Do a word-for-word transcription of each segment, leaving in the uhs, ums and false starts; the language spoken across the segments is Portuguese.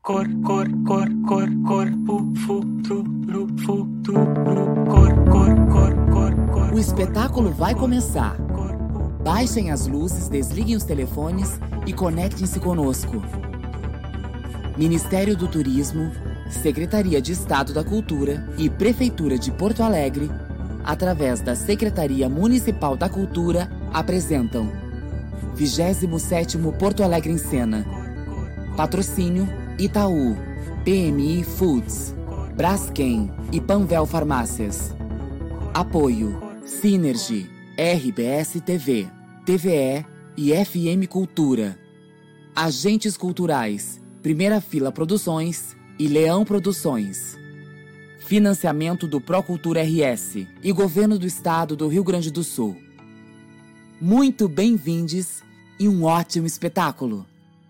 Cor, cor, cor, cor, corpo, futuro, futuro, cor, cor, cor, cor, cor. O espetáculo vai começar. Baixem as luzes, desliguem os telefones e conectem-se conosco. Ministério do Turismo, Secretaria de Estado da Cultura e Prefeitura de Porto Alegre, através da Secretaria Municipal da Cultura, apresentam vigésimo sétimo Porto Alegre em Cena. Patrocínio Itaú, P M I Foods, Braskem e Panvel Farmácias. Apoio Synergy, R B S T V, T V E e F M Cultura. Agentes culturais, Primeira Fila Produções e Leão Produções. Financiamento do Procultura R S e Governo do Estado do Rio Grande do Sul. Muito bem-vindos e um ótimo espetáculo!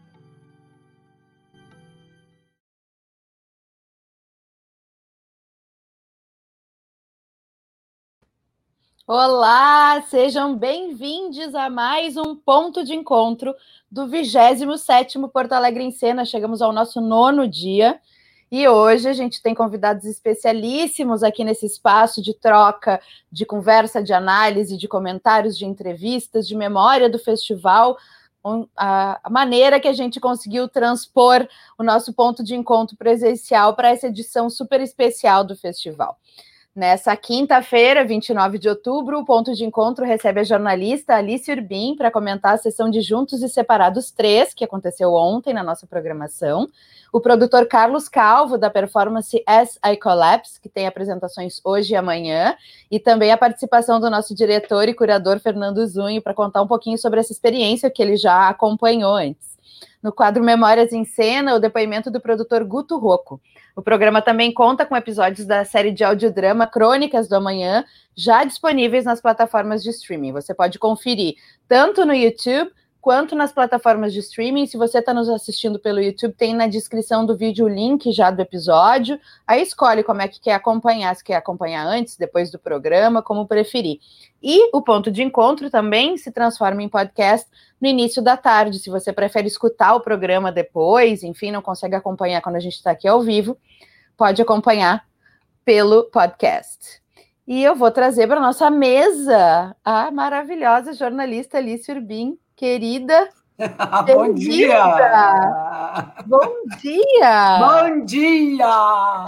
Olá, sejam bem-vindos a mais um ponto de encontro do vigésimo sétimo Porto Alegre em Cena. Chegamos ao nosso nono dia e hoje a gente tem convidados especialíssimos aqui nesse espaço de troca, de conversa, de análise, de comentários, de entrevistas, de memória do festival, a maneira que a gente conseguiu transpor o nosso ponto de encontro presencial para essa edição super especial do festival. Nessa quinta-feira, vinte e nove de outubro, o Ponto de Encontro recebe a jornalista Alice Urbim para comentar a sessão de Juntos e Separados três, que aconteceu ontem na nossa programação. O produtor Carlos Calvo, da performance As I Collapse, que tem apresentações hoje e amanhã, e também a participação do nosso diretor e curador Fernando Zunho para contar um pouquinho sobre essa experiência que ele já acompanhou antes. No quadro Memórias em Cena, o depoimento do produtor Guto Rocco. O programa também conta com episódios da série de audiodrama Crônicas do Amanhã, já disponíveis nas plataformas de streaming. Você pode conferir tanto no YouTube quanto nas plataformas de streaming. Se você está nos assistindo pelo YouTube, tem na descrição do vídeo o link já do episódio. Aí escolhe como é que quer acompanhar, se quer acompanhar antes, depois do programa, como preferir. E o Ponto de Encontro também se transforma em podcast no início da tarde. Se você prefere escutar o programa depois, enfim, não consegue acompanhar quando a gente está aqui ao vivo, pode acompanhar pelo podcast. E eu vou trazer para a nossa mesa a maravilhosa jornalista Alice Urbim, querida. Bom dia! Bom dia! Bom dia!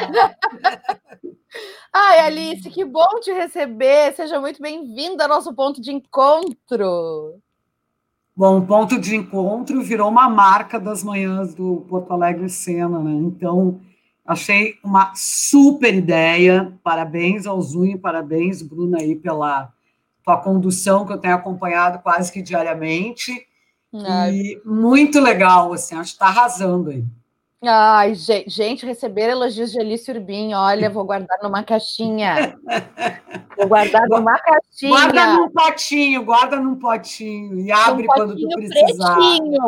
Ai, Alice, que bom te receber. Seja muito bem-vinda ao nosso ponto de encontro. Bom, o ponto de encontro virou uma marca das manhãs do Porto Alegre Cena, né? Então, achei uma super ideia. Parabéns ao Zunho, parabéns, Bruna, aí pela tua condução, que eu tenho acompanhado quase que diariamente. Ai. E muito legal, assim, acho que está arrasando aí. Ai, gente, receber elogios de Alice Urbim, olha, vou guardar numa caixinha. Vou guardar numa caixinha. Guarda num potinho, guarda num potinho e abre um quando tu precisar. Pretinho.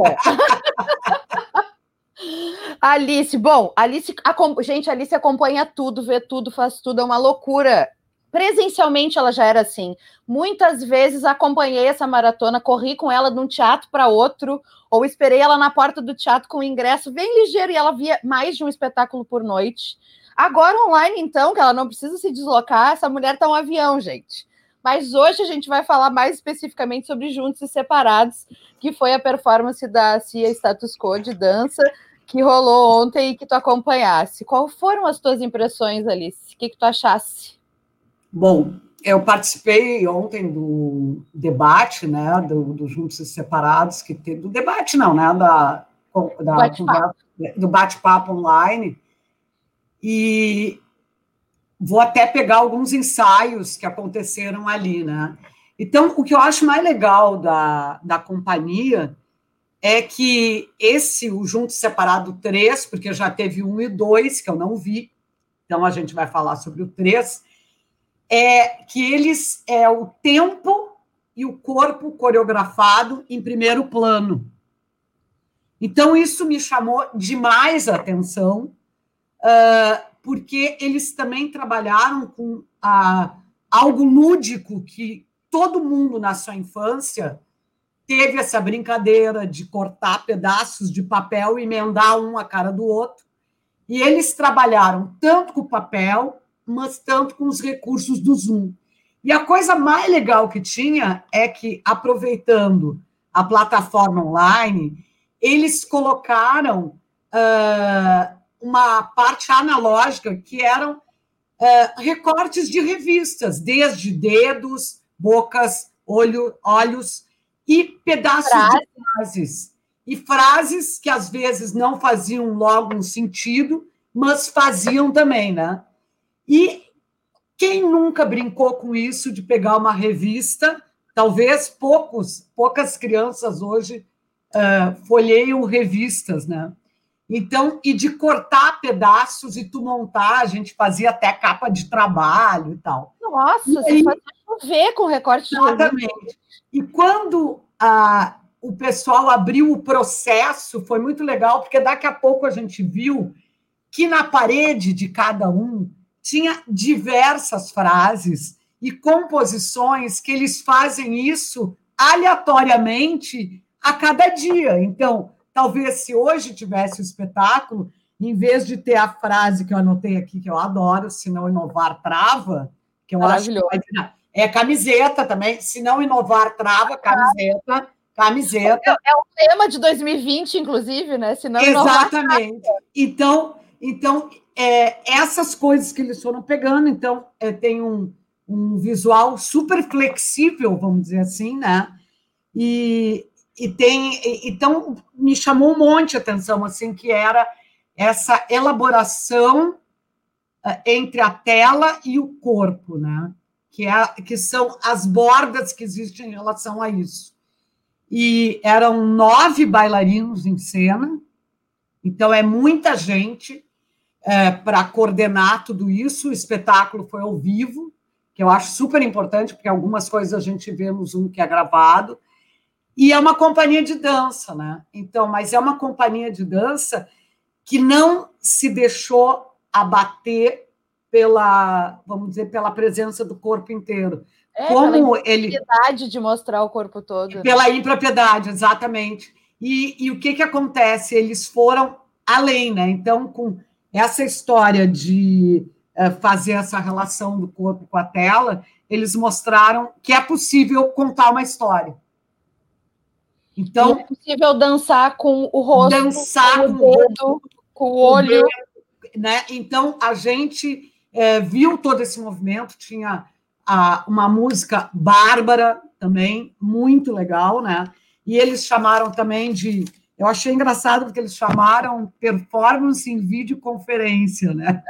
Alice, bom, Alice, gente, Alice acompanha tudo, vê tudo, faz tudo, é uma loucura. Presencialmente ela já era assim. Muitas vezes acompanhei essa maratona, corri com ela de um teatro para outro, ou esperei ela na porta do teatro com o ingresso bem ligeiro e ela via mais de um espetáculo por noite. Agora online, então, que ela não precisa se deslocar, essa mulher tá um avião, gente. Mas hoje a gente vai falar mais especificamente sobre Juntos e Separados, que foi a performance da Cia Status Quo de dança que rolou ontem e que tu acompanhasse. Quais foram as tuas impressões, Alice? O que, que tu achasse? Bom, eu participei ontem do debate, né, do, do Juntos e Separados, que teve, do debate não, né, da, da bate-papo. do bate-papo online, e vou até pegar alguns ensaios que aconteceram ali, né. Então, o que eu acho mais legal da, da companhia é que esse, o Juntos e Separado três, porque já teve um e dois, que eu não vi, então a gente vai falar sobre o três, é que eles é o tempo e o corpo coreografado em primeiro plano. Então, isso me chamou demais a atenção, uh, porque eles também trabalharam com uh, algo lúdico que todo mundo, na sua infância, teve essa brincadeira de cortar pedaços de papel e emendar um a cara do outro, E eles trabalharam tanto com o papel, mas tanto com os recursos do Zoom. E a coisa mais legal que tinha é que, aproveitando a plataforma online, eles colocaram uh, uma parte analógica que eram uh, recortes de revistas, desde dedos, bocas, olho, olhos e pedaços Frase. de frases. E frases que, às vezes, não faziam logo um sentido, mas faziam também, né? E quem nunca brincou com isso de pegar uma revista? Talvez poucos, poucas crianças hoje uh, folheiam revistas, né? Então, e de cortar pedaços e tu montar, a gente fazia até capa de trabalho e tal. Nossa, e você aí, fazia chover com recorte de revista. Exatamente. E quando a, o pessoal abriu o processo, foi muito legal, porque daqui a pouco a gente viu que na parede de cada um tinha diversas frases e composições que eles fazem isso aleatoriamente a cada dia. Então, talvez se hoje tivesse o espetáculo, em vez de ter a frase que eu anotei aqui, que eu adoro, se não inovar, trava, que eu acho que vai virar, é camiseta também, se não inovar, trava, camiseta, camiseta. É, é o tema de dois mil e vinte, inclusive, né? Se não Exatamente. Inovar, trava. Então, então é, essas coisas que eles foram pegando, então, é, tem um, um visual super flexível, vamos dizer assim, né? E, e tem, então, me chamou um monte de atenção, assim, que era essa elaboração entre a tela e o corpo, né? Que, é, que são as bordas que existem em relação a isso. E eram nove bailarinos em cena, então é muita gente é, para coordenar tudo isso. O espetáculo foi ao vivo, que eu acho super importante, porque algumas coisas a gente vê no Zoom que é gravado, e é uma companhia de dança, né? Então, mas é uma companhia de dança que não se deixou abater pela, vamos dizer, pela presença do corpo inteiro. É, Como pela ele impropriedade de mostrar o corpo todo. Pela impropriedade, exatamente. E, e o que, que acontece? Eles foram além, né? Então, com essa história de uh, fazer essa relação do corpo com a tela, eles mostraram que é possível contar uma história. Então, e é possível dançar com o rosto, dançar com o dedo, com o olho. dedo, né? Então, a gente é, viu todo esse movimento, tinha a, uma música bárbara também, muito legal, né? E eles chamaram também de... Eu achei engraçado porque eles chamaram performance em videoconferência, né?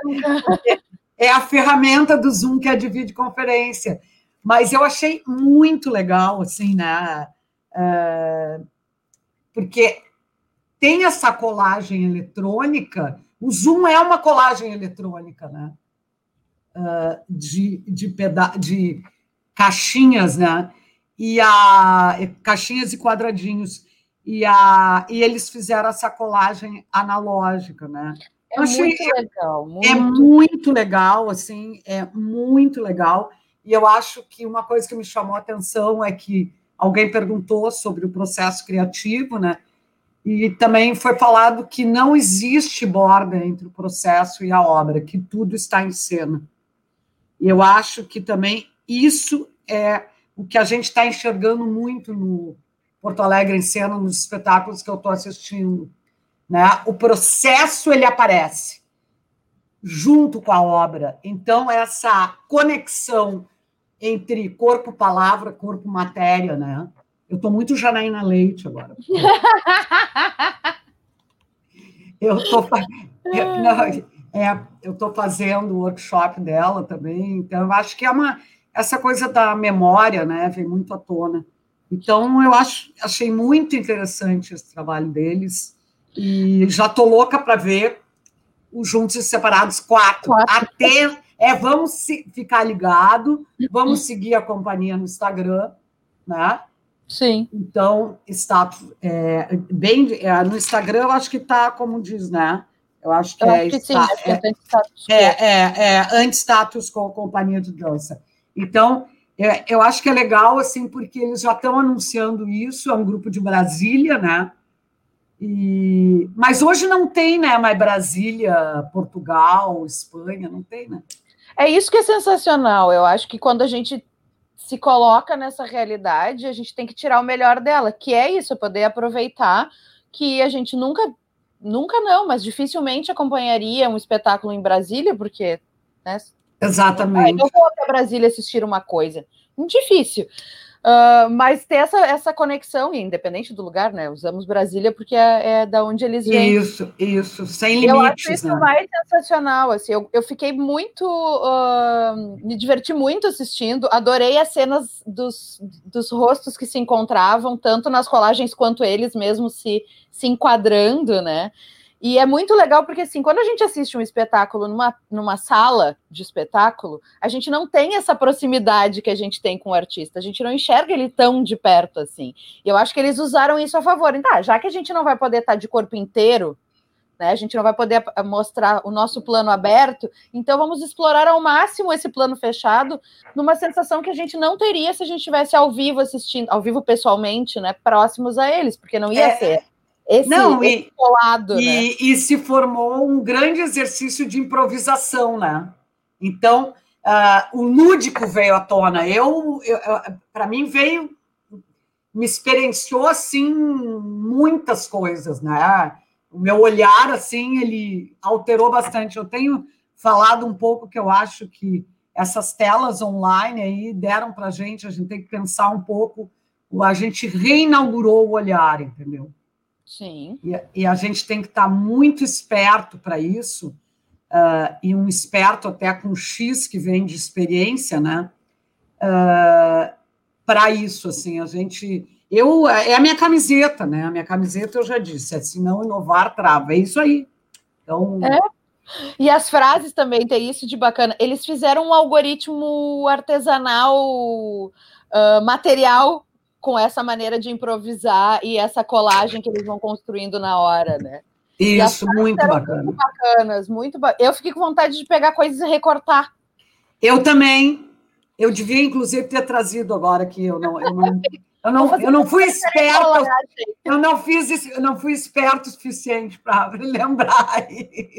É a ferramenta do Zoom que é de videoconferência. Mas eu achei muito legal, assim, né? É, porque tem essa colagem eletrônica, o Zoom é uma colagem eletrônica, né? Uh, de, de, peda de caixinhas, né? E a, caixinhas e quadradinhos. E, a, e eles fizeram essa colagem analógica, né? É achei, muito legal. Muito. É muito legal, assim, é muito legal. E eu acho que uma coisa que me chamou a atenção é que alguém perguntou sobre o processo criativo, né? E também foi falado que não existe borda entre o processo e a obra, que tudo está em cena. E eu acho que também isso é o que a gente está enxergando muito no Porto Alegre em Cena, nos espetáculos que eu estou assistindo, né? O processo, ele aparece junto com a obra. Então, essa conexão entre corpo-palavra, corpo-matéria, né? Eu estou muito Janaína Leite agora. Eu estou é, eu estou fazendo o workshop dela também, então eu acho que é uma essa coisa da memória, né, vem muito à tona. Então eu acho, achei muito interessante esse trabalho deles e já estou louca para ver os Juntos e Separados quatro. quatro. Até é, vamos se, ficar ligado, vamos seguir a companhia no Instagram, né? Sim. Então, status, é, bem, é, no Instagram, eu acho que está, como diz, né? Eu acho que eu é. Acho que está, sim, é, é, é, é, é anti-status com a companhia de dança. Então, é, eu acho que é legal, assim, porque eles já estão anunciando isso, é um grupo de Brasília, né? E, mas hoje não tem, né? Mais Brasília, Portugal, Espanha, não tem, né? É isso que é sensacional. Eu acho que quando a gente se coloca nessa realidade, a gente tem que tirar o melhor dela, que é isso, poder aproveitar que a gente nunca, nunca não, mas dificilmente acompanharia um espetáculo em Brasília, porque, né? Exatamente. Eu não vou até Brasília assistir uma coisa. Muito difícil. Uh, mas ter essa, essa conexão, independente do lugar, né? Usamos Brasília porque é, é da onde eles vêm. Isso, isso, sem limites. Eu acho isso, né, mais sensacional. Assim, eu, eu fiquei muito. Uh, me diverti muito assistindo, adorei as cenas dos, dos rostos que se encontravam, tanto nas colagens quanto eles mesmos se, se enquadrando, né? E é muito legal porque, assim, quando a gente assiste um espetáculo numa, numa sala de espetáculo, a gente não tem essa proximidade que a gente tem com o artista. A gente não enxerga ele tão de perto, assim. E eu acho que eles usaram isso a favor. Então, tá, já que a gente não vai poder estar de corpo inteiro, né, a gente não vai poder mostrar o nosso plano aberto, então vamos explorar ao máximo esse plano fechado numa sensação que a gente não teria se a gente estivesse ao vivo assistindo, ao vivo pessoalmente, né, próximos a eles, porque não ia é... ser esse, não, esse e, colado, e, né? E se formou um grande exercício de improvisação, né? Então, uh, o lúdico veio à tona. Eu, eu, eu para mim, veio, me experienciou, assim, muitas coisas, né? O meu olhar, assim, ele alterou bastante. Eu tenho falado um pouco que eu acho que essas telas online aí deram para a gente, a gente tem que pensar um pouco, a gente reinaugurou o olhar, entendeu? Sim. E, e a gente tem que estar muito esperto para isso, uh, e um esperto até com X que vem de experiência, né? Uh, para isso, assim, a gente... Eu, é a minha camiseta, né? A minha camiseta, eu já disse, é se não inovar, trava. É isso aí. Então... É. E as frases também tem isso de bacana. Eles fizeram um algoritmo artesanal, uh, material, com essa maneira de improvisar e essa colagem que eles vão construindo na hora, né? Isso, muito bacana. Muito bacanas, muito ba... Eu fiquei com vontade de pegar coisas e recortar. Eu também. Eu devia, inclusive, ter trazido agora que eu não, eu não, eu não, eu não fui esperta. Eu não fiz, eu não fui esperto o suficiente para lembrar.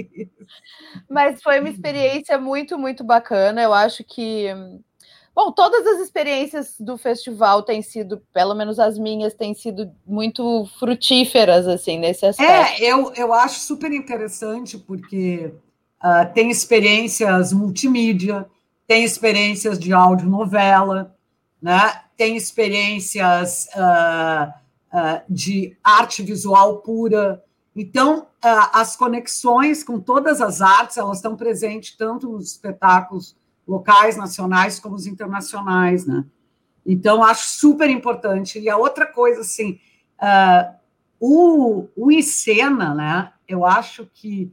Mas foi uma experiência muito, muito bacana. Eu acho que bom, todas as experiências do festival têm sido, pelo menos as minhas, têm sido muito frutíferas, assim, nesse aspecto. É, eu, eu acho super interessante, porque uh, tem experiências multimídia, tem experiências de audionovela, né? Tem experiências uh, uh, de arte visual pura. Então, uh, as conexões com todas as artes, elas estão presentes tanto nos espetáculos locais, nacionais, como os internacionais, né? Então, acho super importante. E a outra coisa, assim, uh, o, o Encena, né? Eu acho que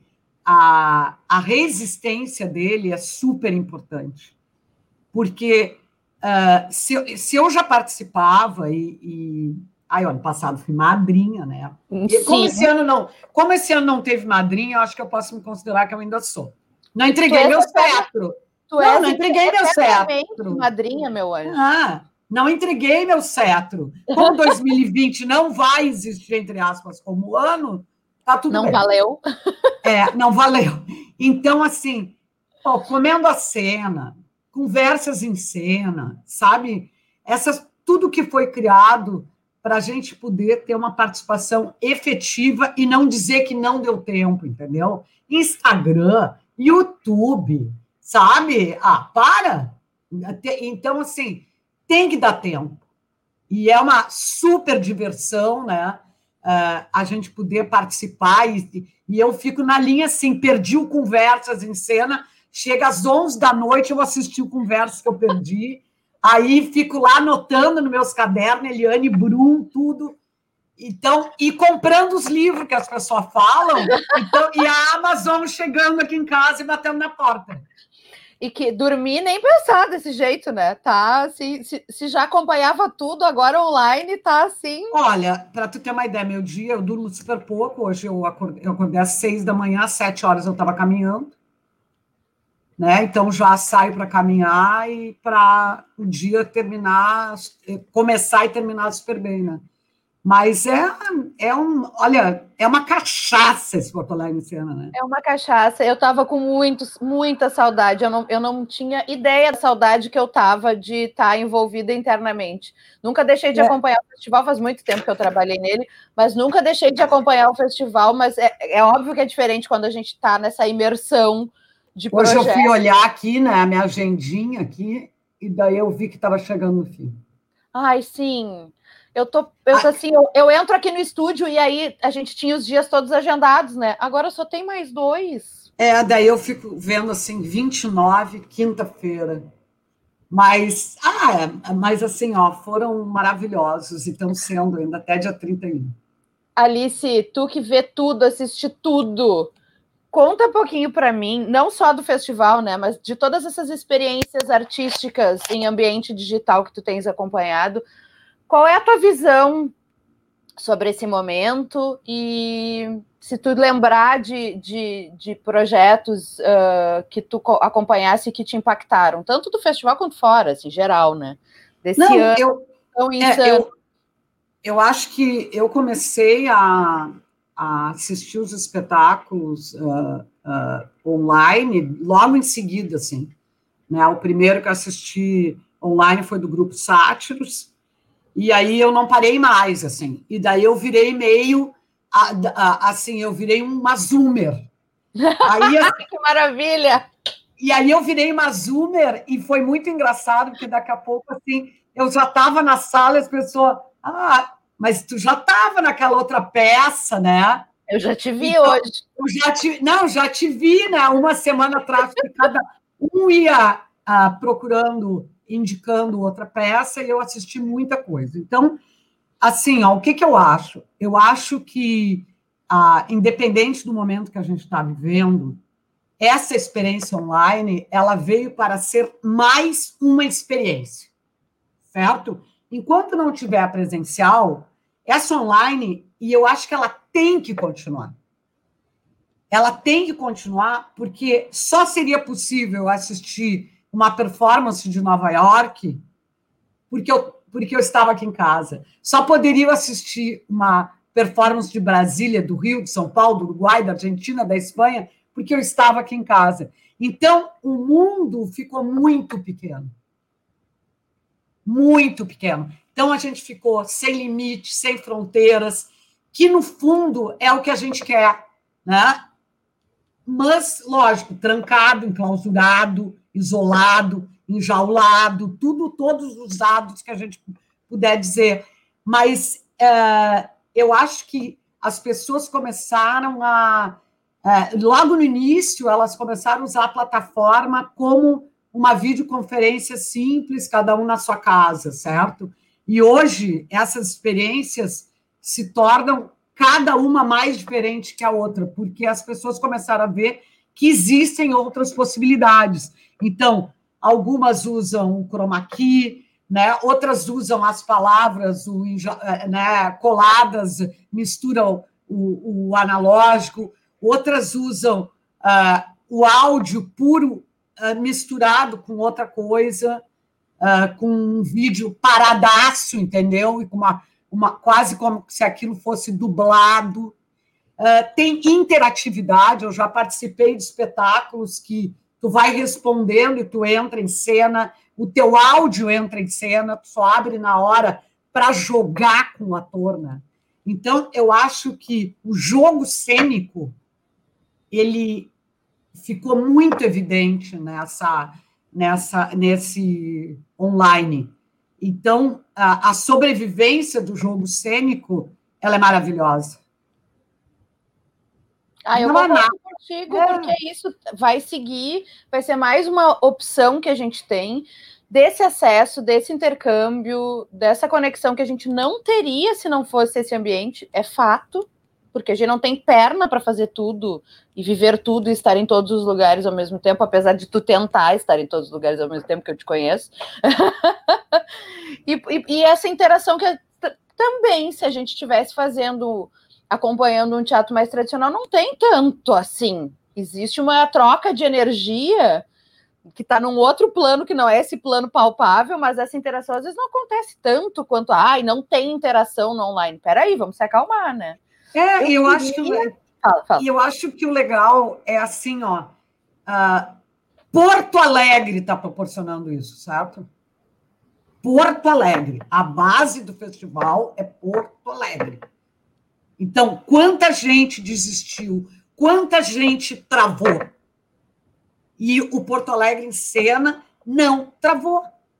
a, a resistência dele é super importante. Porque uh, se, se eu já participava e... e aí, ano passado fui madrinha, né? E como esse ano não, como esse ano não teve madrinha, eu acho que eu posso me considerar que eu ainda sou. Não entreguei meu cetro. Tu não, não entreguei meu cetro. Madrinha, meu anjo. Ah, não entreguei meu cetro. Como dois mil e vinte não vai existir, entre aspas, como ano, tá tudo não bem. Não valeu. É, não valeu. Então, assim, ó, comendo a cena, conversas em cena, sabe? Essas, tudo que foi criado para a gente poder ter uma participação efetiva e não dizer que não deu tempo, entendeu? Instagram, YouTube... Sabe? Ah, para! Então, assim, tem que dar tempo. E é uma super diversão, né? Uh, a gente poder participar. E, e eu fico na linha, assim, perdi o Conversas em Cena, chega às onze da noite, eu assisti o Conversas que eu perdi, aí fico lá anotando nos meus cadernos, Eliane Brum, tudo. Então, e comprando os livros que as pessoas falam, então, e a Amazon chegando aqui em casa e batendo na porta. E que dormir nem pensar desse jeito, né? Tá, se, se, se já acompanhava tudo, agora online tá assim. Olha, para tu ter uma ideia, meu dia, eu durmo super pouco. Hoje eu acordei, eu acordei às seis da manhã, às sete horas eu estava caminhando, né? Então já saio para caminhar e para o dia terminar, começar e terminar super bem, né? Mas é, é um, olha, é uma cachaça esse Porto Alegre em Cena, né? É uma cachaça. Eu tava com muito, muita saudade. Eu não, eu não tinha ideia da saudade que eu tava de estar envolvida internamente. Nunca deixei de é. acompanhar o festival, faz muito tempo que eu trabalhei nele, mas nunca deixei de acompanhar o festival. Mas é, é óbvio que é diferente quando a gente está nessa imersão de projetos. Hoje eu fui olhar aqui, né, a minha agendinha aqui, e daí eu vi que estava chegando no fim. Ai, sim. Eu tô, eu tô assim, eu, eu entro aqui no estúdio e aí a gente tinha os dias todos agendados, né? Agora só tem mais dois. É, daí eu fico vendo assim, vinte e nove, quinta-feira. Mas, ah, mas assim, ó, foram maravilhosos e estão sendo ainda até dia trinta e um. Alice, tu que vê tudo, assiste tudo, conta um pouquinho para mim, não só do festival, né, mas de todas essas experiências artísticas em ambiente digital que tu tens acompanhado. Qual é a tua visão sobre esse momento? E se tu lembrar de, de, de projetos uh, que tu acompanhasse e que te impactaram, tanto do festival quanto fora, assim, geral, né? Desse Não, ano eu, tão insano. É, eu, eu acho que eu comecei a, a assistir os espetáculos uh, uh, online logo em seguida, assim. Né? O primeiro que eu assisti online foi do grupo Sátiros. E aí eu não parei mais, assim. E daí eu virei meio, assim, eu virei uma zoomer. Aí, assim, que maravilha! E aí eu virei uma zoomer e foi muito engraçado, porque daqui a pouco, assim, eu já estava na sala e as pessoas... Ah, mas tu já estava naquela outra peça, né? Eu já te vi então, hoje. Eu já te, não, já te vi, né? Uma semana atrás, que cada um ia ah, procurando... indicando outra peça, e eu assisti muita coisa. Então, assim, ó, o que, que eu acho? Eu acho que, ah, independente do momento que a gente está vivendo, essa experiência online, ela veio para ser mais uma experiência, certo? Enquanto não tiver presencial, essa online, e eu acho que ela tem que continuar. Ela tem que continuar, porque só seria possível assistir uma performance de Nova York, porque eu, porque eu estava aqui em casa. Só poderia assistir uma performance de Brasília, do Rio, de São Paulo, do Uruguai, da Argentina, da Espanha, porque eu estava aqui em casa. Então, o mundo ficou muito pequeno. Muito pequeno. Então, a gente ficou sem limite, sem fronteiras, que, no fundo, é o que a gente quer, né? Mas, lógico, trancado, enclausurado, isolado, enjaulado, tudo, todos os dados que a gente puder dizer. Mas é, eu acho que as pessoas começaram a... É, logo no início, elas começaram a usar a plataforma como uma videoconferência simples, cada um na sua casa, certo? E hoje, essas experiências se tornam cada uma mais diferente que a outra, porque as pessoas começaram a ver que existem outras possibilidades. Então, algumas usam o chroma key, né? Outras usam as palavras o, né, coladas, misturam o, o analógico, outras usam uh, o áudio puro uh, misturado com outra coisa, uh, com um vídeo paradaço, entendeu? E com uma, uma, quase como se aquilo fosse dublado. Uh, tem interatividade, eu já participei de espetáculos que tu vai respondendo e tu entra em cena, o teu áudio entra em cena, tu só abre na hora para jogar com o ator, né? Então, eu acho que o jogo cênico, ele ficou muito evidente nessa, nessa, nesse online. Então, a, a sobrevivência do jogo cênico, ela é maravilhosa. Ah, eu concordo contigo, é. Porque isso vai seguir, vai ser mais uma opção que a gente tem desse acesso, desse intercâmbio, dessa conexão que a gente não teria se não fosse esse ambiente, é fato, porque a gente não tem perna para fazer tudo e viver tudo e estar em todos os lugares ao mesmo tempo, apesar de tu tentar estar em todos os lugares ao mesmo tempo, que eu te conheço. e, e, e essa interação que também, se a gente estivesse fazendo... acompanhando um teatro mais tradicional, não tem tanto assim. Existe uma troca de energia, que está num outro plano, que não é esse plano palpável, mas essa interação às vezes não acontece tanto quanto, ai, não tem interação no online. Peraí, vamos se acalmar, né? É, eu, eu, queria... acho que, fala, fala. eu acho que o legal é assim, ó, uh, Porto Alegre está proporcionando isso, certo? Porto Alegre, a base do festival é Porto Alegre. Então, quanta gente desistiu, quanta gente travou. E o Porto Alegre em Cena não travou.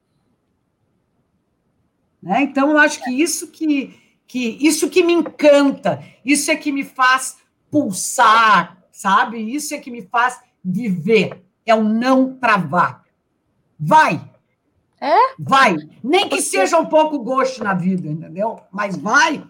Né? Então, eu acho que isso que, que isso que me encanta, isso é que me faz pulsar, sabe? Isso é que me faz viver, é o não travar. Vai! É? Vai! Nem que seja um pouco gosto na vida, entendeu? Mas vai!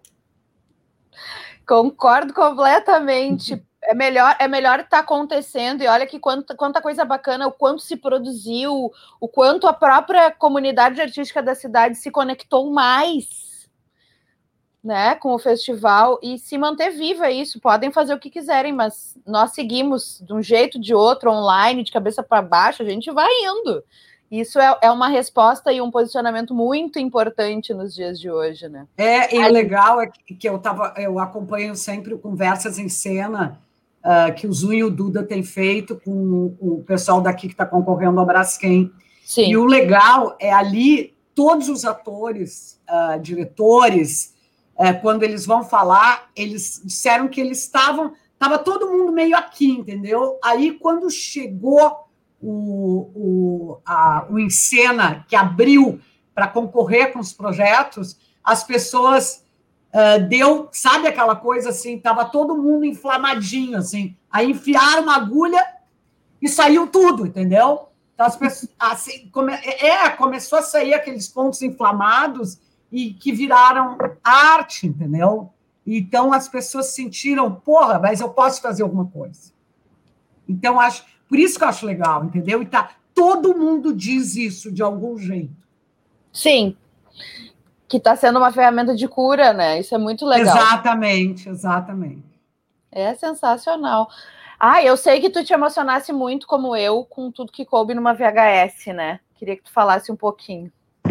Concordo completamente. É melhor é melhor estar acontecendo, e olha que quanta, quanta coisa bacana, o quanto se produziu, o quanto a própria comunidade artística da cidade se conectou mais, né, com o festival, e se manter viva isso. Podem fazer o que quiserem, mas nós seguimos de um jeito, de outro, online, de cabeça para baixo, a gente vai indo. Isso é, é uma resposta e um posicionamento muito importante nos dias de hoje, né? É, e o legal é que eu, tava, eu acompanho sempre Conversas em Cena, uh, que o Zu e o Duda têm feito com o pessoal daqui que está concorrendo ao Braskem. Sim. E o legal é ali, todos os atores, uh, diretores, uh, quando eles vão falar, eles disseram que eles estavam... Estava todo mundo meio aqui, entendeu? Aí, quando chegou... O, o, a, o Encena, que abriu para concorrer com os projetos, as pessoas uh, deu, sabe aquela coisa assim, estava todo mundo inflamadinho, assim, aí enfiaram uma agulha e saiu tudo, entendeu? Então, as pessoas, assim, come, é, começou a sair aqueles pontos inflamados e que viraram arte, entendeu? Então, as pessoas sentiram, porra, mas eu posso fazer alguma coisa. Então, acho... Por isso que eu acho legal, entendeu? E tá, todo mundo diz isso de algum jeito. Sim. Que está sendo uma ferramenta de cura, né? Isso é muito legal. Exatamente, exatamente. É sensacional. Ah, eu sei que tu te emocionasse muito, como eu, com tudo que coube numa V H S, né? Queria que tu falasse um pouquinho.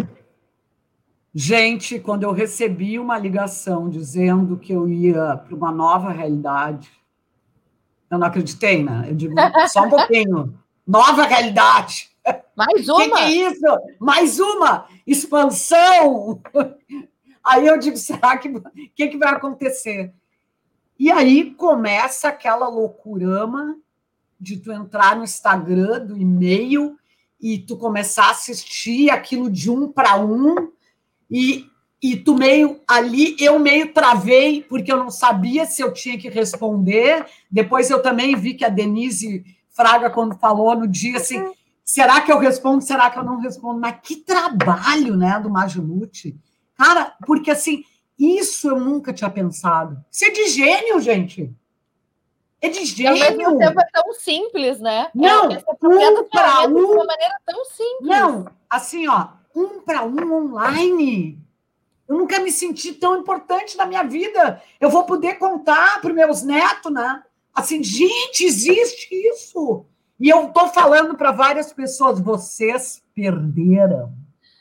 Gente, quando eu recebi uma ligação dizendo que eu ia para uma nova realidade... Eu não acreditei, né? Eu digo, só um pouquinho. Nova realidade. Mais uma? O que, que é isso? Mais uma expansão. Aí eu digo, será que que, que vai acontecer? E aí começa aquela loucurama de tu entrar no Instagram, do e-mail, e tu começar a assistir aquilo de um para um, e... E tu meio ali, eu meio travei, porque eu não sabia se eu tinha que responder. Depois eu também vi que a Denise Fraga, quando falou no dia, assim, será que eu respondo, será que eu não respondo? Mas que trabalho, né, do Magilute. Cara, porque assim, isso eu nunca tinha pensado. Isso é de gênio, gente. É de gênio. Ao mesmo tempo é tão simples, né? Não, é, um para um. De uma maneira tão simples. Não, assim, ó, um para um online. Eu nunca me senti tão importante na minha vida. Eu vou poder contar para os meus netos, né? Assim, gente, existe isso. E eu estou falando para várias pessoas, vocês perderam.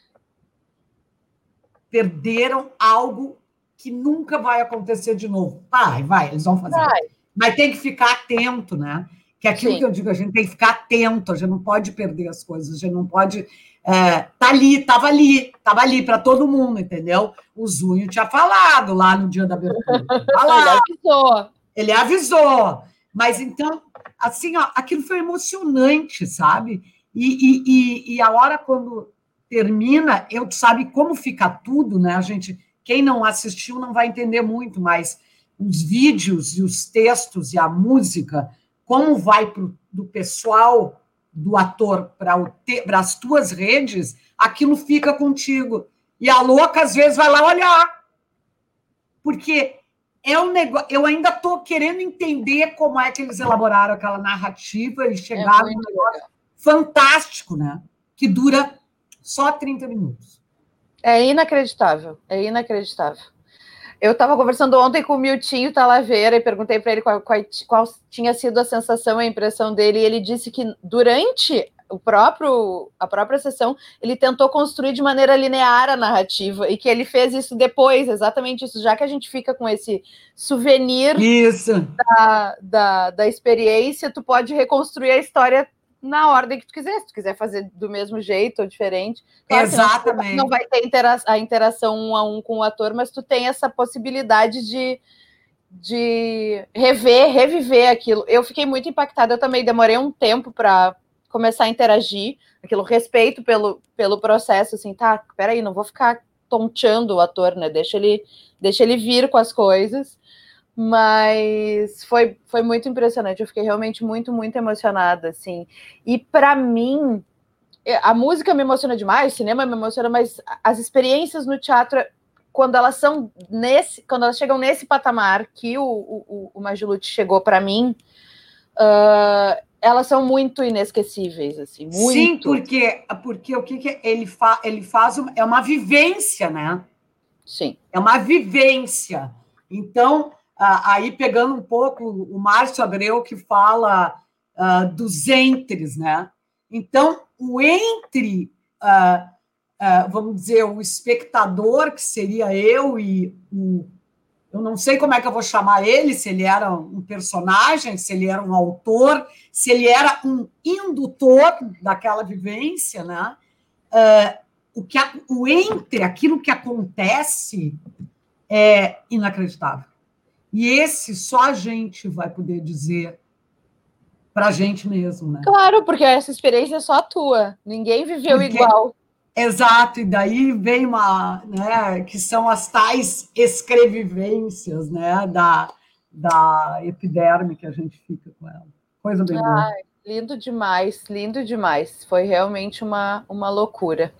Perderam algo que nunca vai acontecer de novo. Vai, vai, eles vão fazer. Vai. Mas tem que ficar atento, né? Que é aquilo Sim. que eu digo, a gente tem que ficar atento, a gente não pode perder as coisas, a gente não pode... É, tá ali, tava ali, tava ali para todo mundo, entendeu? O Zunho tinha falado lá no dia da abertura. Ele avisou. Ele avisou. Mas então, assim, ó, aquilo foi emocionante, sabe? E, e, e, e a hora quando termina, eu sabe como fica tudo, né? A gente, quem não assistiu não vai entender muito, mas os vídeos e os textos e a música, como vai pro, do pessoal do ator para as tuas redes, aquilo fica contigo. E a louca, às vezes, vai lá olhar. Porque é um negócio... Eu ainda estou querendo entender como é que eles elaboraram aquela narrativa e chegaram é num negócio legal. Fantástico, né? Que dura só trinta minutos. É inacreditável. É inacreditável. Eu estava conversando ontem com o Miltinho Talaveira e perguntei para ele qual, qual, qual tinha sido a sensação, a impressão dele, e ele disse que durante o próprio, a própria sessão, ele tentou construir de maneira linear a narrativa, e que ele fez isso depois, exatamente isso, já que a gente fica com esse souvenir isso. Da, da, da experiência, tu pode reconstruir a história na ordem que tu quiser, se tu quiser fazer do mesmo jeito ou diferente. Claro, exatamente. Não, não vai ter intera a interação um a um com o ator, mas tu tem essa possibilidade de de rever, reviver aquilo. Eu fiquei muito impactada, eu também demorei um tempo para começar a interagir, aquilo, respeito pelo, pelo processo, assim, tá, peraí, não vou ficar tonteando o ator, né, deixa ele, deixa ele vir com as coisas, mas foi, foi muito impressionante, eu fiquei realmente muito, muito emocionada, assim, e para mim, a música me emociona demais, o cinema me emociona, mas as experiências no teatro, quando elas são nesse, quando elas chegam nesse patamar que o, o, o Majuluti chegou para mim, uh, elas são muito inesquecíveis, assim, muito. Sim, porque, porque o que, que ele, fa, ele faz é uma vivência, né? Sim. É uma vivência. Então, uh, aí pegando um pouco o Márcio Abreu, que fala uh, dos entres, né? Então, o entre... Uh, Uh, vamos dizer, o espectador, que seria eu e o... Eu não sei como é que eu vou chamar ele, se ele era um personagem, se ele era um autor, se ele era um indutor daquela vivência, né? Uh, o, que a, o entre, aquilo que acontece, é inacreditável. E esse só a gente vai poder dizer para a gente mesmo, né? Claro, porque essa experiência é só tua. Ninguém viveu porque... igual. Exato, e daí vem uma, né, que são as tais escrevivências, né, da, da epiderme que a gente fica com ela. Coisa bem boa. Ai, lindo demais, lindo demais. Foi realmente uma, uma loucura.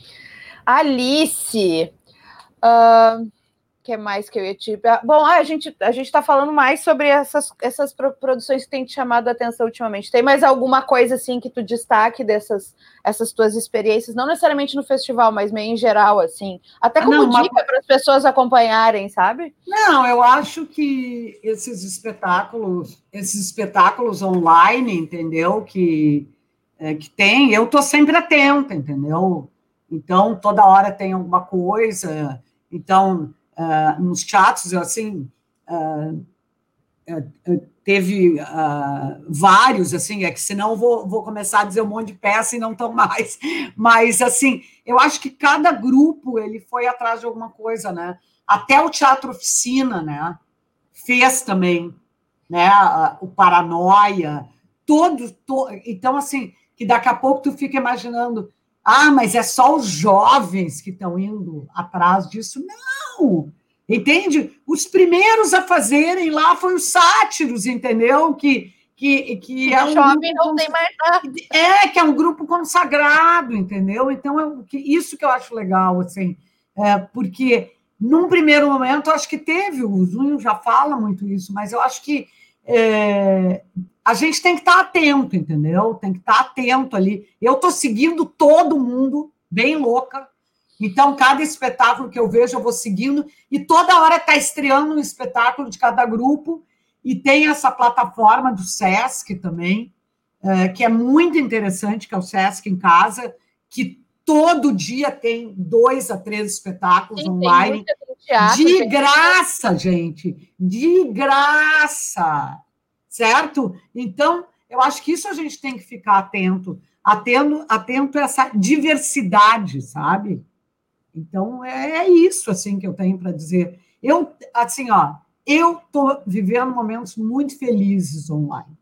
Alice, uh, que mais que eu ia te... Bom, a gente a gente está falando mais sobre essas, essas produções que têm te chamado a atenção ultimamente. Tem mais alguma coisa assim que tu destaque dessas essas tuas experiências, não necessariamente no festival, mas meio em geral, assim, até como não, dica uma... para as pessoas acompanharem, sabe? Não, eu acho que esses espetáculos, esses espetáculos online, entendeu? Que é, que tem, eu tô sempre atenta, entendeu? Então toda hora tem alguma coisa, então Uh, nos teatros, assim, uh, uh, teve vários, assim, é que senão eu vou, vou começar a dizer um monte de peça e não tão mais, mas, assim, eu acho que cada grupo, ele foi atrás de alguma coisa, né, até o Teatro Oficina, né, fez também, né, o Paranoia, todos, to... então, assim, que daqui a pouco tu fica imaginando, ah, mas é só os jovens que estão indo atrás disso. Não! Entende? Os primeiros a fazerem lá foram os sátiros, entendeu? Que, que, que é um jovem não tem mais nada. É, que é um grupo consagrado, entendeu? Então, é isso que eu acho legal, assim, é, porque num primeiro momento, eu acho que teve, o Zunho já fala muito isso, mas eu acho que é, a gente tem que estar atento, entendeu? Tem que estar atento ali. Eu estou seguindo todo mundo, bem louca. Então, cada espetáculo que eu vejo, eu vou seguindo. E toda hora está estreando um espetáculo de cada grupo. E tem essa plataforma do Sesc também, é, que é muito interessante, que é o Sesc em Casa, que todo dia tem dois a três espetáculos Sim, online. Teatro, de graça, tem... gente. De graça. Certo? Então, eu acho que isso a gente tem que ficar atento, atento, atento a essa diversidade, sabe? Então, é, é isso, assim, que eu tenho para dizer. Eu, assim, ó, eu estou vivendo momentos muito felizes online.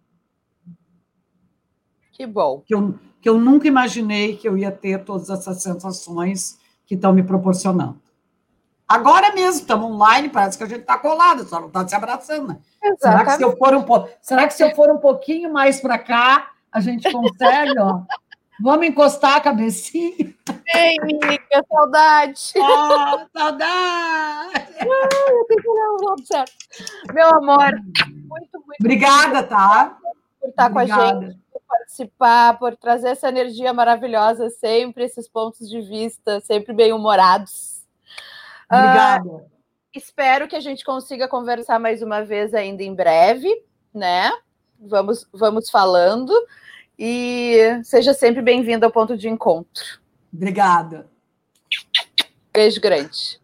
Que bom. Que eu, que eu nunca imaginei que eu ia ter todas essas sensações que estão me proporcionando. Agora mesmo, estamos online, parece que a gente está colado, só não está se abraçando, né? Será que, se eu for um po... Será que se eu for um pouquinho mais para cá, a gente consegue, ó? Vamos encostar a cabecinha? Ei, amiga, saudade! Ah, saudade! Ah, eu tenho que olhar o lado certo. Meu amor, muito, muito obrigada, tá? Por estar obrigada. Com a gente, por participar, por trazer essa energia maravilhosa sempre, esses pontos de vista sempre bem-humorados. Obrigada. Uh, espero que a gente consiga conversar mais uma vez ainda em breve, né? Vamos, vamos falando. e seja sempre bem-vindo ao Ponto de Encontro. Obrigada. Beijo grande.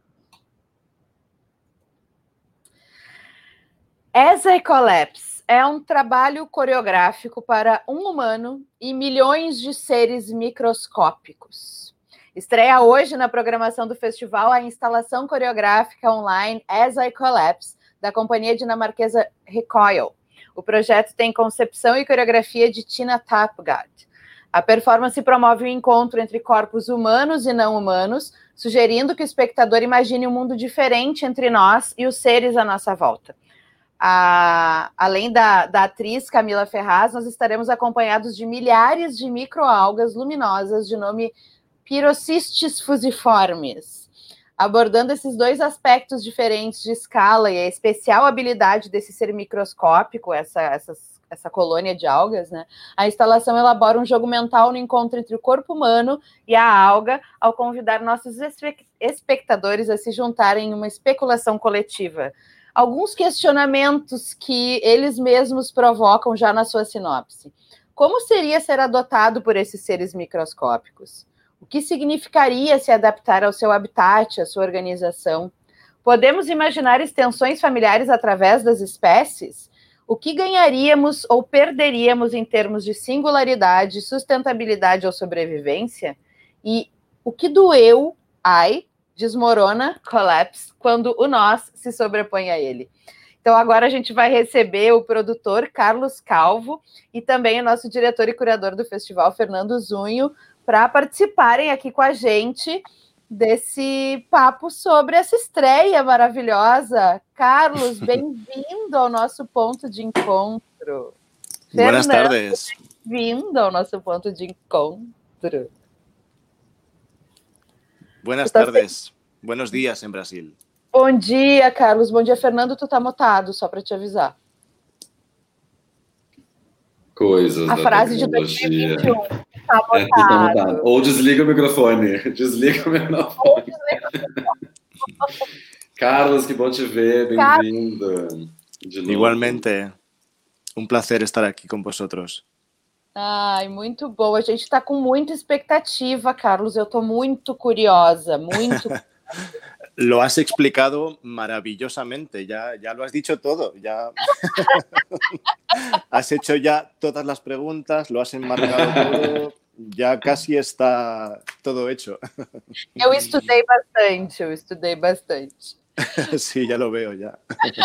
Ecolepse é um trabalho coreográfico para um humano e milhões de seres microscópicos. Estreia hoje na programação do festival a instalação coreográfica online Ecolepse, da companhia dinamarquesa Recoil. O projeto tem concepção e coreografia de Tina Tapgard. A performance promove o encontro entre corpos humanos e não humanos, sugerindo que o espectador imagine um mundo diferente entre nós e os seres à nossa volta. A, além da, da atriz Camila Ferraz, nós estaremos acompanhados de milhares de microalgas luminosas de nome Pyrocystis fusiformes. Abordando esses dois aspectos diferentes de escala e a especial habilidade desse ser microscópico, essa, essas, essa colônia de algas, né? A instalação elabora um jogo mental no encontro entre o corpo humano e a alga, ao convidar nossos espectadores a se juntarem em uma especulação coletiva. Alguns questionamentos que eles mesmos provocam já na sua sinopse. Como seria ser adotado por esses seres microscópicos? O que significaria se adaptar ao seu habitat, à sua organização? Podemos imaginar extensões familiares através das espécies? O que ganharíamos ou perderíamos em termos de singularidade, sustentabilidade ou sobrevivência? E o que doeu, ai, desmorona, collapse, quando o nós se sobrepõe a ele. Então, agora a gente vai receber o produtor Carlos Calvo e também o nosso diretor e curador do festival, Fernando Zunho, para participarem aqui com a gente desse papo sobre essa estreia maravilhosa. Carlos, bem-vindo ao nosso ponto de encontro. Buenas Fernando, tardes. Bem-vindo ao nosso ponto de encontro. Buenas tardes. Buenos días em Brasil. Bom dia, Carlos. Bom dia, Fernando. Tu tá mutado, só para te avisar. Coisas A da frase de tecnologia. dois mil e vinte e um. Tá É, tu tá mutado. mutado. Ou desliga o microfone. Desliga o microfone. Ou desliga. Carlos, que bom te ver. Bem-vindo. De novo. Igualmente, um prazer estar aqui com vosotros. Ai, muito bom. A gente está com muita expectativa, Carlos. Eu estou muito curiosa, muito. Lo has explicado maravillosamente, ya, ya lo has dicho todo, ya has hecho ya todas las preguntas, lo has enmarcado todo, ya casi está todo hecho. Eu estudei bastante, eu estudei bastante. Sí, ya lo veo, ya.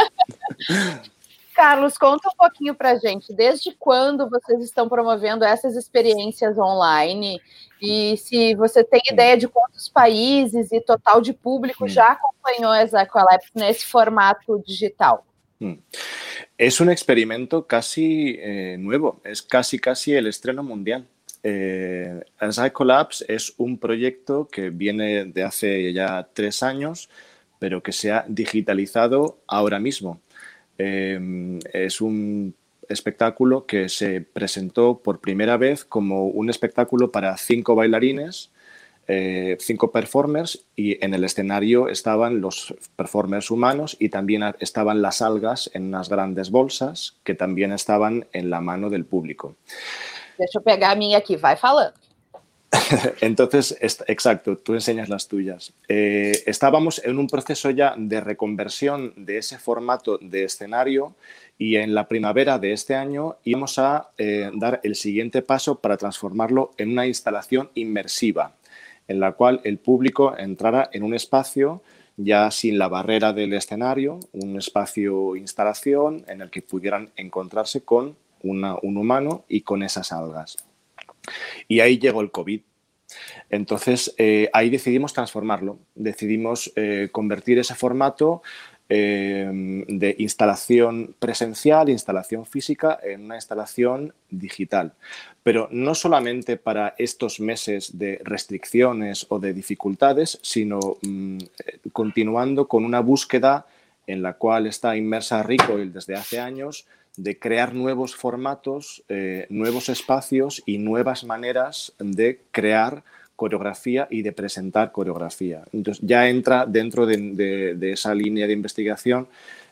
Carlos, conta um pouquinho para a gente, desde quando vocês estão promovendo essas experiências online e se você tem ideia de quantos países e total de público já acompanhou essa Ecolepse nesse formato digital? Es un experimento casi eh, nuevo, es casi casi el estreno mundial. Eh, Ecolepse es un proyecto que viene de hace ya tres años, pero que se ha digitalizado ahora mismo. Eh, es un espectáculo que se presentó por primera vez como un espectáculo para cinco bailarines, eh, cinco performers, y en el escenario estaban los performers humanos y también estaban las algas en unas grandes bolsas que también estaban en la mano del público. Deixa eu pegar a minha aqui, vai falando. Entonces, exacto, tú enseñas las tuyas. Eh, estábamos en un proceso ya de reconversión de ese formato de escenario y en la primavera de este año íbamos a eh, dar el siguiente paso para transformarlo en una instalación inmersiva, en la cual el público entrara en un espacio ya sin la barrera del escenario, un espacio instalación en el que pudieran encontrarse con una, un humano y con esas algas. Y ahí llegó el COVID. Entonces, eh, ahí decidimos transformarlo. Decidimos eh, convertir ese formato eh, de instalación presencial, instalación física, en una instalación digital. Pero no solamente para estos meses de restricciones o de dificultades, sino mm, continuando con una búsqueda en la cual está inmersa Recoil desde hace años, de crear nuevos formatos, eh, nuevos espacios y nuevas maneras de crear coreografía y de presentar coreografía. Entonces ya entra dentro de, de, de esa línea de investigación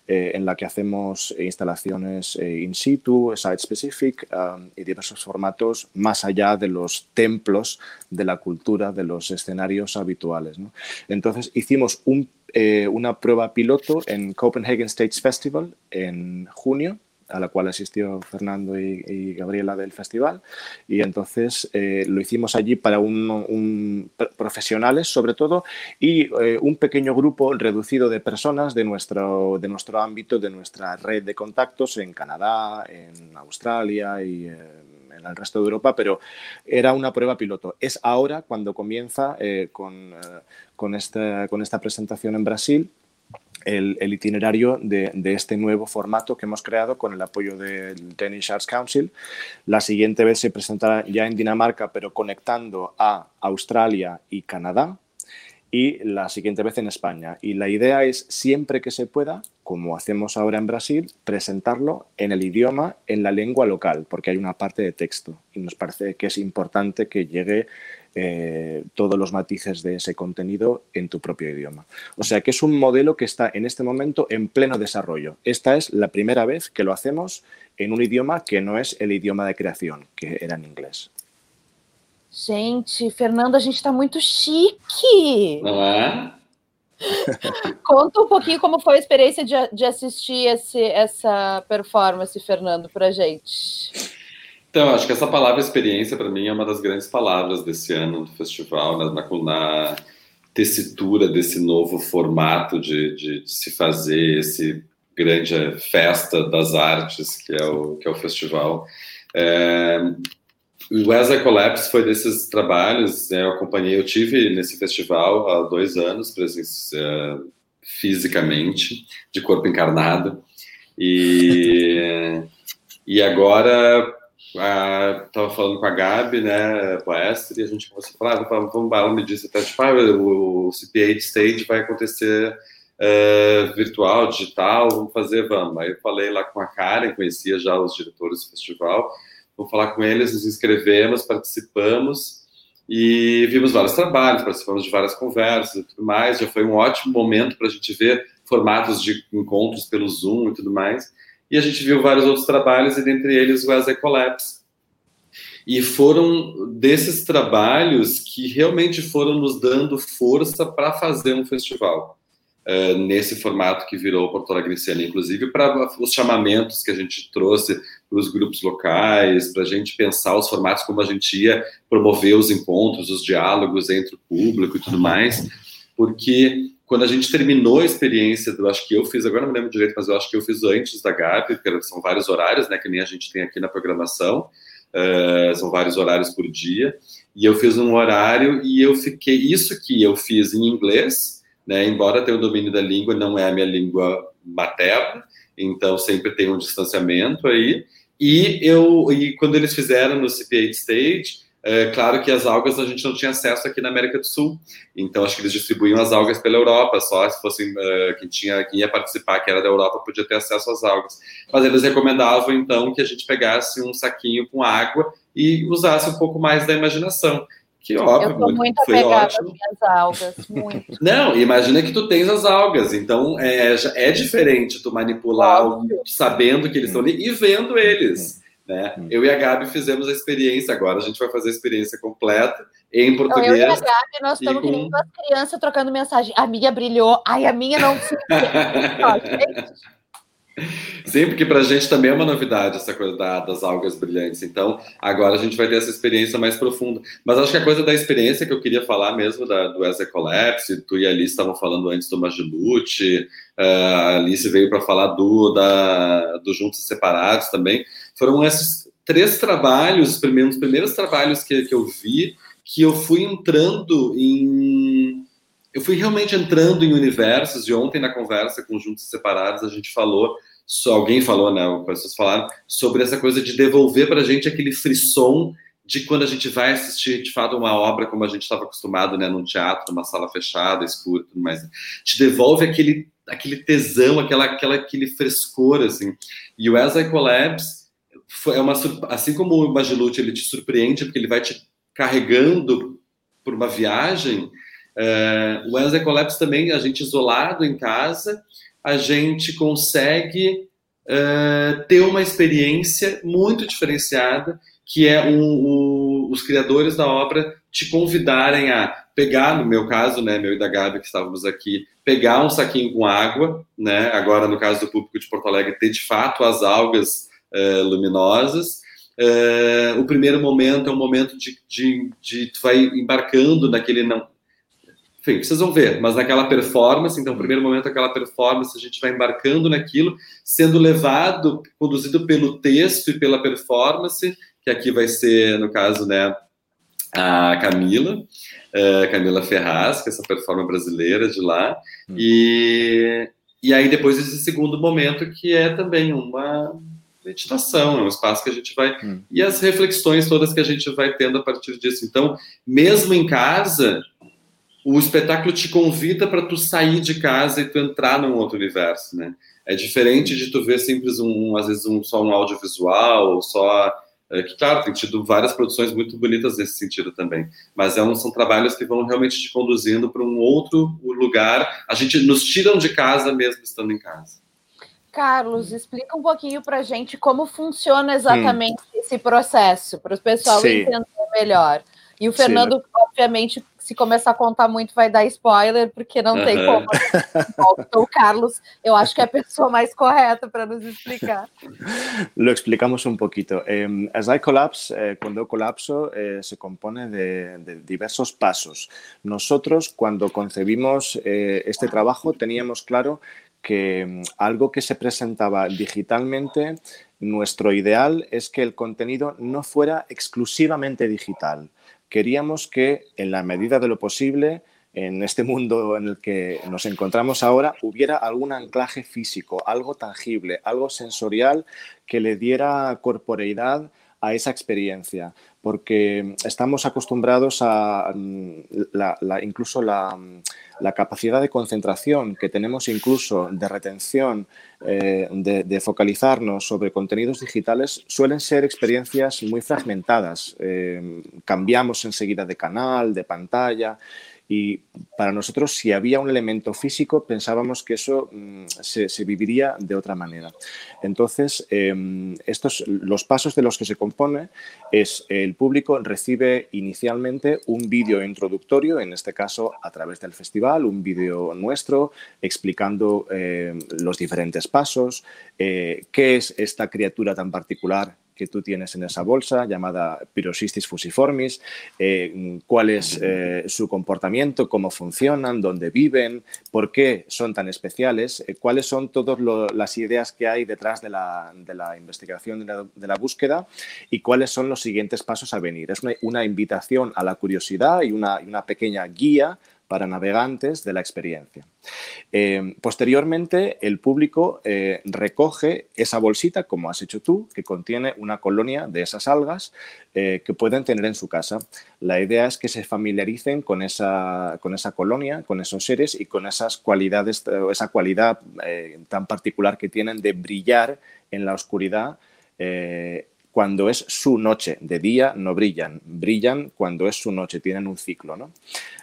eh, en la que hacemos instalaciones eh, in situ, site-specific um, y diversos formatos más allá de los templos de la cultura, de los escenarios habituales, ¿no? Entonces, hicimos un, eh, una prueba piloto en Copenhagen Stage Festival en junio, a la cual asistió Fernando y, y Gabriela del festival, y entonces eh, lo hicimos allí para un, un, profesionales sobre todo y eh, un pequeño grupo reducido de personas de nuestro, de nuestro ámbito, de nuestra red de contactos en Canadá, en Australia y eh, en el resto de Europa, pero era una prueba piloto. Es ahora cuando comienza eh, con, eh, con, esta, con esta presentación en Brasil, El, el itinerario de, de este nuevo formato que hemos creado con el apoyo del Danish Arts Council. La siguiente vez se presentará ya en Dinamarca, pero conectando a Australia y Canadá, y la siguiente vez en España. Y la idea es, siempre que se pueda, como hacemos ahora en Brasil, presentarlo en el idioma, en la lengua local, porque hay una parte de texto y nos parece que es importante que llegue eh, todos los matices de ese contenido en tu propio idioma. O sea que es un modelo que está en este momento en pleno desarrollo. Esta es la primera vez que lo hacemos en un idioma que no es el idioma de creación, que era en inglés. Gente, Fernando, a gente está muito chique. Não é? Conta um pouquinho como foi a experiência de, de assistir esse, essa performance, Fernando, para a gente. Então, acho que essa palavra experiência, para mim, é uma das grandes palavras desse ano do festival, né? na, na tessitura desse novo formato de, de, de se fazer esse grande festa das artes que é o, que é o festival. É, o As I Collapse foi desses trabalhos, né, eu acompanhei, eu tive nesse festival há dois anos, presença, uh, fisicamente, de corpo encarnado, e, e agora estava uh, falando com a Gabi, né, com a Esther, e a gente começou a falar, ah, vamos, vamos, ela me disse até, tipo, ah, o, o C P oito Stage vai acontecer uh, virtual, digital, vamos fazer, vamos. Aí eu falei lá com a Karen, conhecia já os diretores do festival, vou falar com eles, nos inscrevemos, participamos e vimos vários trabalhos, participamos de várias conversas e tudo mais. Já foi um ótimo momento para a gente ver formatos de encontros pelo Zoom e tudo mais. E a gente viu vários outros trabalhos e dentre eles o As I Collapse. E foram desses trabalhos que realmente foram nos dando força para fazer um festival. Uh, nesse formato que virou Porto Alegre em Cena, inclusive para os chamamentos que a gente trouxe para os grupos locais, para a gente pensar os formatos, como a gente ia promover os encontros, os diálogos entre o público e tudo mais, porque quando a gente terminou a experiência, eu acho que eu fiz, agora não me lembro direito, mas eu acho que eu fiz antes da Gabi, porque são vários horários, né, que nem a gente tem aqui na programação, uh, são vários horários por dia, e eu fiz um horário e eu fiquei, isso que eu fiz em inglês, né, embora tenha o domínio da língua, não é a minha língua materna, então sempre tem um distanciamento aí, e, eu, e quando eles fizeram no C P oito Stage, é claro que as algas a gente não tinha acesso aqui na América do Sul, então acho que eles distribuíam as algas pela Europa, só se fosse uh, quem, tinha, quem ia participar, que era da Europa, podia ter acesso às algas, mas eles recomendavam então que a gente pegasse um saquinho com água e usasse um pouco mais da imaginação. Que óbvio, eu tô muito foi apegada ótimo. às minhas algas, muito. Não, imagina que tu tens as algas, então é, é diferente tu manipular o, sabendo que eles estão ali e vendo eles, né? Eu e a Gabi fizemos a experiência, agora a gente vai fazer a experiência completa em português. Então, eu e a Gabi, nós estamos com... que nem duas crianças trocando mensagem. A minha brilhou, ai, a minha não se... Sim, porque para a gente também é uma novidade essa coisa da, das algas brilhantes. Então, agora a gente vai ter essa experiência mais profunda. Mas acho que a coisa da experiência que eu queria falar mesmo da, do As I Collapse, tu e a Alice estavam falando antes do Magilute, a Alice veio para falar do, da, do Juntos e Separados também. Foram esses três trabalhos, os primeiros, os primeiros trabalhos que, que eu vi, que eu fui entrando em... Eu fui realmente entrando em universos, e ontem na conversa com Juntos e Separados a gente falou, só alguém falou, né, pessoas falaram, sobre essa coisa de devolver para a gente aquele frisson de quando a gente vai assistir, de fato, uma obra como a gente estava acostumado, né, num teatro, numa sala fechada, escura, tudo mais. Te devolve aquele, aquele tesão, aquela, aquela, aquele frescor, assim. E o As I Collapse, foi uma, assim como o Magilute, ele te surpreende, porque ele vai te carregando por uma viagem. Uh, o As I Collapse também, a gente isolado em casa, a gente consegue uh, ter uma experiência muito diferenciada, que é um, um, os criadores da obra te convidarem a pegar, no meu caso, né, meu e da Gabi, que estávamos aqui, pegar um saquinho com água, né, agora no caso do público de Porto Alegre, ter de fato as algas uh, luminosas. Uh, o primeiro momento é um momento de, de, de tu vai embarcando naquele... não Enfim, vocês vão ver, mas naquela performance, então, o primeiro momento, aquela performance, a gente vai embarcando naquilo, sendo levado, conduzido pelo texto e pela performance, que aqui vai ser, no caso, né, a Camila, uh, Camila Ferraz, que é essa performance brasileira de lá, hum. e, e aí depois esse segundo momento, que é também uma meditação, é um espaço que a gente vai... Hum. E as reflexões todas que a gente vai tendo a partir disso. Então, mesmo em casa... o espetáculo te convida para tu sair de casa e tu entrar num outro universo, né? É diferente de tu ver simples um, às vezes um, só um audiovisual, só... É, que, claro, tem tido várias produções muito bonitas nesse sentido também, mas é um, são trabalhos que vão realmente te conduzindo para um outro lugar. A gente nos tiram de casa mesmo estando em casa. Carlos, explica um pouquinho para a gente como funciona exatamente hum. esse processo, para o pessoal Sim. entender melhor. E o Fernando, Sim, obviamente, se começar a contar muito, vai dar spoiler, porque não uh-huh. tem como. Então, o Carlos, eu acho que é a pessoa mais correta para nos explicar. Lo explicamos un poquito. Eh, As I Collapse, eh, cuando yo colapso, eh, se compone de, de diversos pasos. Nosotros, cuando concebimos eh, este trabajo, teníamos claro que algo que se presentaba digitalmente, nuestro ideal es que el contenido no fuera exclusivamente digital. Queríamos que, en la medida de lo posible, en este mundo en el que nos encontramos ahora, hubiera algún anclaje físico, algo tangible, algo sensorial que le diera corporeidad a esa experiencia, porque estamos acostumbrados a la, la, incluso la, la capacidad de concentración que tenemos, incluso de retención, eh, de, de focalizarnos sobre contenidos digitales, suelen ser experiencias muy fragmentadas. Eh, cambiamos enseguida de canal, de pantalla. Y para nosotros, si había un elemento físico, pensábamos que eso mmm, se, se viviría de otra manera. Entonces, eh, estos, los pasos de los que se compone es el público recibe inicialmente un vídeo introductorio, en este caso a través del festival, un vídeo nuestro explicando eh, los diferentes pasos, eh, qué es esta criatura tan particular que tú tienes en esa bolsa, llamada Pyroxystis fusiformis, eh, cuál es eh, su comportamiento, cómo funcionan, dónde viven, por qué son tan especiales, eh, cuáles son todas las ideas que hay detrás de la, de la investigación, de la, de la búsqueda, y cuáles son los siguientes pasos a venir. Es una, una invitación a la curiosidad y una, y una pequeña guía para navegantes de la experiencia. Eh, posteriormente, el público eh, recoge esa bolsita, como has hecho tú, que contiene una colonia de esas algas eh, que pueden tener en su casa. La idea es que se familiaricen con esa, con esa colonia, con esos seres y con esas cualidades, esa cualidad eh, tan particular que tienen de brillar en la oscuridad eh, cuando es su noche. De día no brillan, brillan cuando es su noche, tienen un ciclo, ¿no?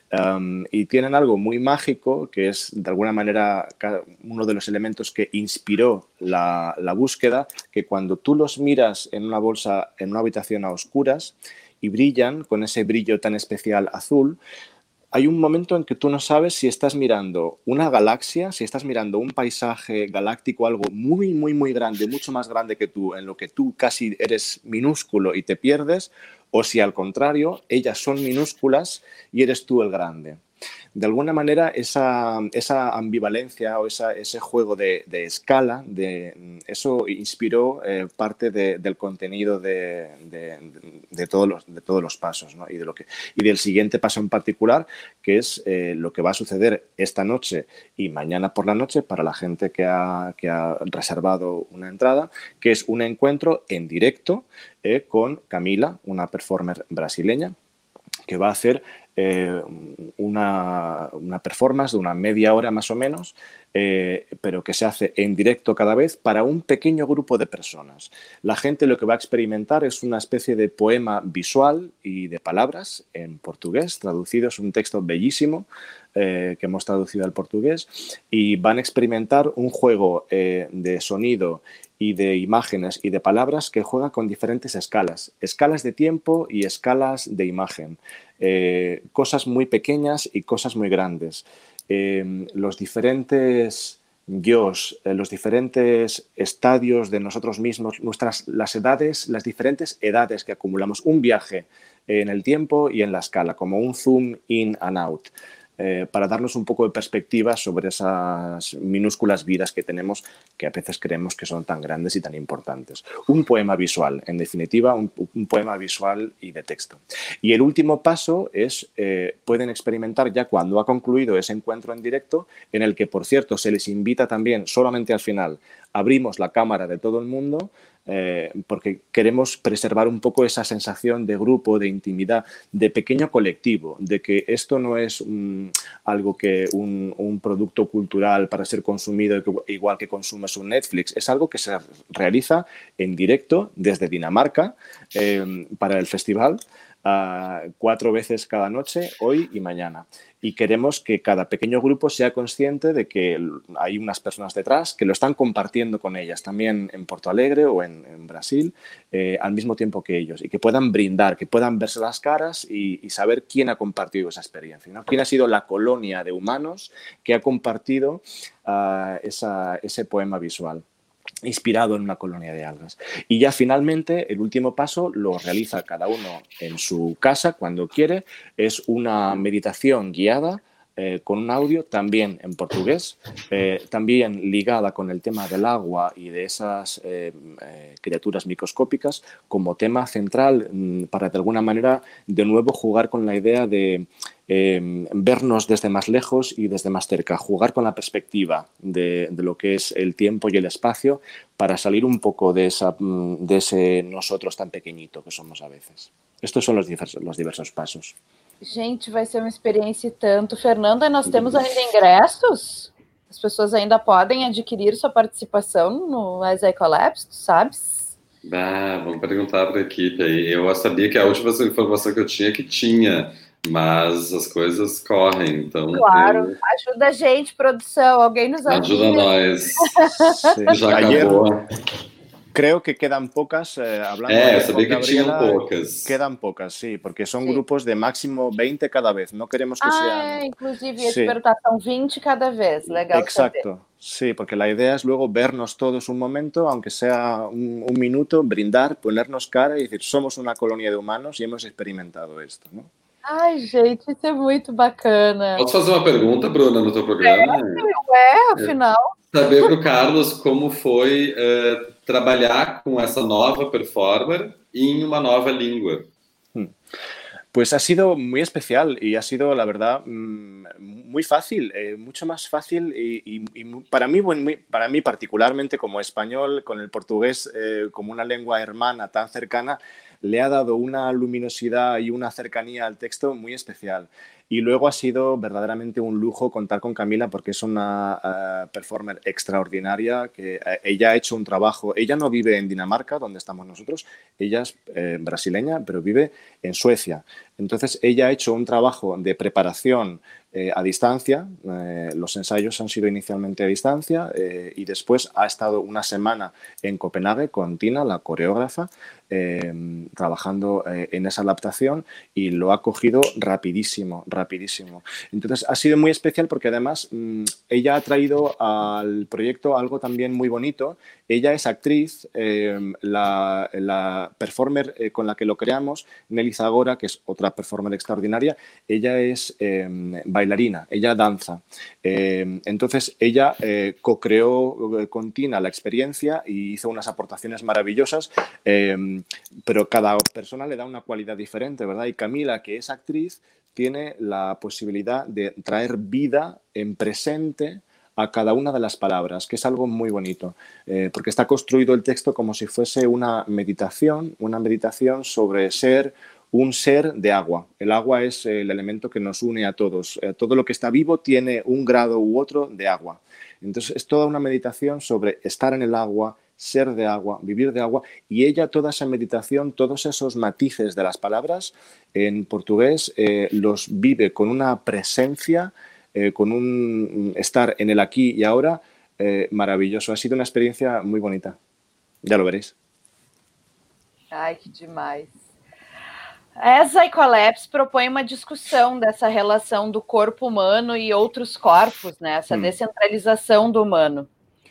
Um, y tienen algo muy mágico que es, de alguna manera, uno de los elementos que inspiró la, la búsqueda, que cuando tú los miras en una bolsa, en una habitación a oscuras y brillan con ese brillo tan especial azul, hay un momento en que tú no sabes si estás mirando una galaxia, si estás mirando un paisaje galáctico, algo muy, muy, muy grande, mucho más grande que tú, en lo que tú casi eres minúsculo y te pierdes, o si al contrario, ellas son minúsculas y eres tú el grande. De alguna manera, esa, esa ambivalencia o esa, ese juego de, de escala, de, eso inspiró eh, parte de, del contenido de, de, de, todos los, de todos los pasos, ¿no? y, de lo que, y del siguiente paso en particular, que es eh, lo que va a suceder esta noche y mañana por la noche para la gente que ha, que ha reservado una entrada, que es un encuentro en directo eh, con Camila, una performer brasileña, que va a hacer eh, una, una performance de una media hora más o menos, eh, pero que se hace en directo cada vez para un pequeño grupo de personas. La gente lo que va a experimentar es una especie de poema visual y de palabras en portugués, traducido, es un texto bellísimo eh, que hemos traducido al portugués, y van a experimentar un juego eh, de sonido y de imágenes y de palabras que juega con diferentes escalas, escalas de tiempo y escalas de imagen, eh, cosas muy pequeñas y cosas muy grandes. Eh, los diferentes yos, eh, los diferentes estadios de nosotros mismos, nuestras, las edades, las diferentes edades que acumulamos, un viaje en el tiempo y en la escala, como un zoom in and out. Eh, para darnos un poco de perspectiva sobre esas minúsculas vidas que tenemos, que a veces creemos que son tan grandes y tan importantes. Un poema visual, en definitiva, un, un poema visual y de texto. Y el último paso es, eh, pueden experimentar ya cuando ha concluido ese encuentro en directo, en el que, por cierto, se les invita también, solamente al final, abrimos la cámara de todo el mundo, Eh, porque queremos preservar un poco esa sensación de grupo, de intimidad, de pequeño colectivo, de que esto no es um, algo que un, un producto cultural para ser consumido igual que consumes un Netflix, es algo que se realiza en directo desde Dinamarca eh, para el festival, uh, cuatro veces cada noche, hoy y mañana. Y queremos que cada pequeño grupo sea consciente de que hay unas personas detrás que lo están compartiendo con ellas, también en Porto Alegre o en, en Brasil, eh, al mismo tiempo que ellos, y que puedan brindar, que puedan verse las caras y, y saber quién ha compartido esa experiencia, ¿no? Quién ha sido la colonia de humanos que ha compartido uh, esa, ese poema visual, inspirado en una colonia de algas. Y ya finalmente el último paso lo realiza cada uno en su casa cuando quiere. Es una meditación guiada eh, con un audio también en portugués, eh, también ligada con el tema del agua y de esas eh, eh, criaturas microscópicas como tema central mmm, para de alguna manera de nuevo jugar con la idea de Eh, vernos desde más lejos y desde más cerca, jugar con la perspectiva de, de lo que es el tiempo y el espacio para salir un poco de, esa, de ese nosotros tan pequeñito que somos a veces. Estos son los diversos, los diversos pasos. Gente, vai ser uma experiência e tanto. Fernanda, nós temos ainda ingressos? As pessoas ainda podem adquirir sua participação no As I Collapse, tu sabes? Ah, vamos perguntar para a equipe aí. Eu sabia que a última informação que eu tinha é que tinha, mas as coisas correm, então... Claro, eu... ajuda a gente, produção, alguém nos ajuda. Ajuda nós. Sí. Já Ayer, acabou. Creo que quedan pocas, eh, hablando eh, de sabía que Gabriela, tinham poucas. Quedan pocas, sí, porque son sí. grupos de máximo veinte cada vez, no queremos que ah, sean... É, inclusive, ia sí. te perguntar, são vinte cada vez, legal. Exacto, saber. Sí, porque la idea es luego vernos todos un momento, aunque sea un, un minuto, brindar, ponernos cara y decir, somos una colonia de humanos y hemos experimentado esto, ¿no? Ai, gente, isso é muito bacana. Posso fazer uma pergunta, Bruna, no teu programa? É, é afinal. Saber para o Carlos como foi uh, trabalhar com essa nova performer em uma nova língua. Hmm. Pues ha sido muy especial y ha sido, la verdad, muy fácil, eh, mucho más fácil y, y, y para mí, bueno, para mí particularmente como español, con el portugués eh, como una lengua hermana tan cercana, le ha dado una luminosidad y una cercanía al texto muy especial. Y luego ha sido verdaderamente un lujo contar con Camila porque es una uh, performer extraordinaria, que uh, ella ha hecho un trabajo, ella no vive en Dinamarca, donde estamos nosotros, ella es eh, brasileña, pero vive en Suecia. Entonces ella ha hecho un trabajo de preparación eh, a distancia, eh, los ensayos han sido inicialmente a distancia eh, y después ha estado una semana en Copenhague con Tina, la coreógrafa, eh, trabajando eh, en esa adaptación y lo ha cogido rapidísimo, rapidísimo. Entonces ha sido muy especial porque además mmm, ella ha traído al proyecto algo también muy bonito. Ella es actriz, eh, la, la performer eh, con la que lo creamos, Nelly Zagora, que es otra performer extraordinaria, ella es eh, bailarina, ella danza. Eh, entonces ella eh, co-creó con Tina la experiencia y hizo unas aportaciones maravillosas, eh, pero cada persona le da una cualidad diferente, ¿verdad? Y Camila, que es actriz, tiene la posibilidad de traer vida en presente a cada una de las palabras, que es algo muy bonito, eh, porque está construido el texto como si fuese una meditación, una meditación sobre ser un ser de agua. El agua es el elemento que nos une a todos. Eh, todo lo que está vivo tiene un grado u otro de agua. Entonces, es toda una meditación sobre estar en el agua, ser de agua, vivir de agua, y ella, toda esa meditación, todos esos matices de las palabras en portugués, eh, los vive con una presencia, eh, con un estar en el aquí y ahora eh, maravilloso. Ha sido una experiencia muy bonita. Ya lo veréis. Ai, que demais. A Psycholapse propõe uma discussão dessa relação do corpo humano e outros corpos, né? Essa hum. descentralização do humano.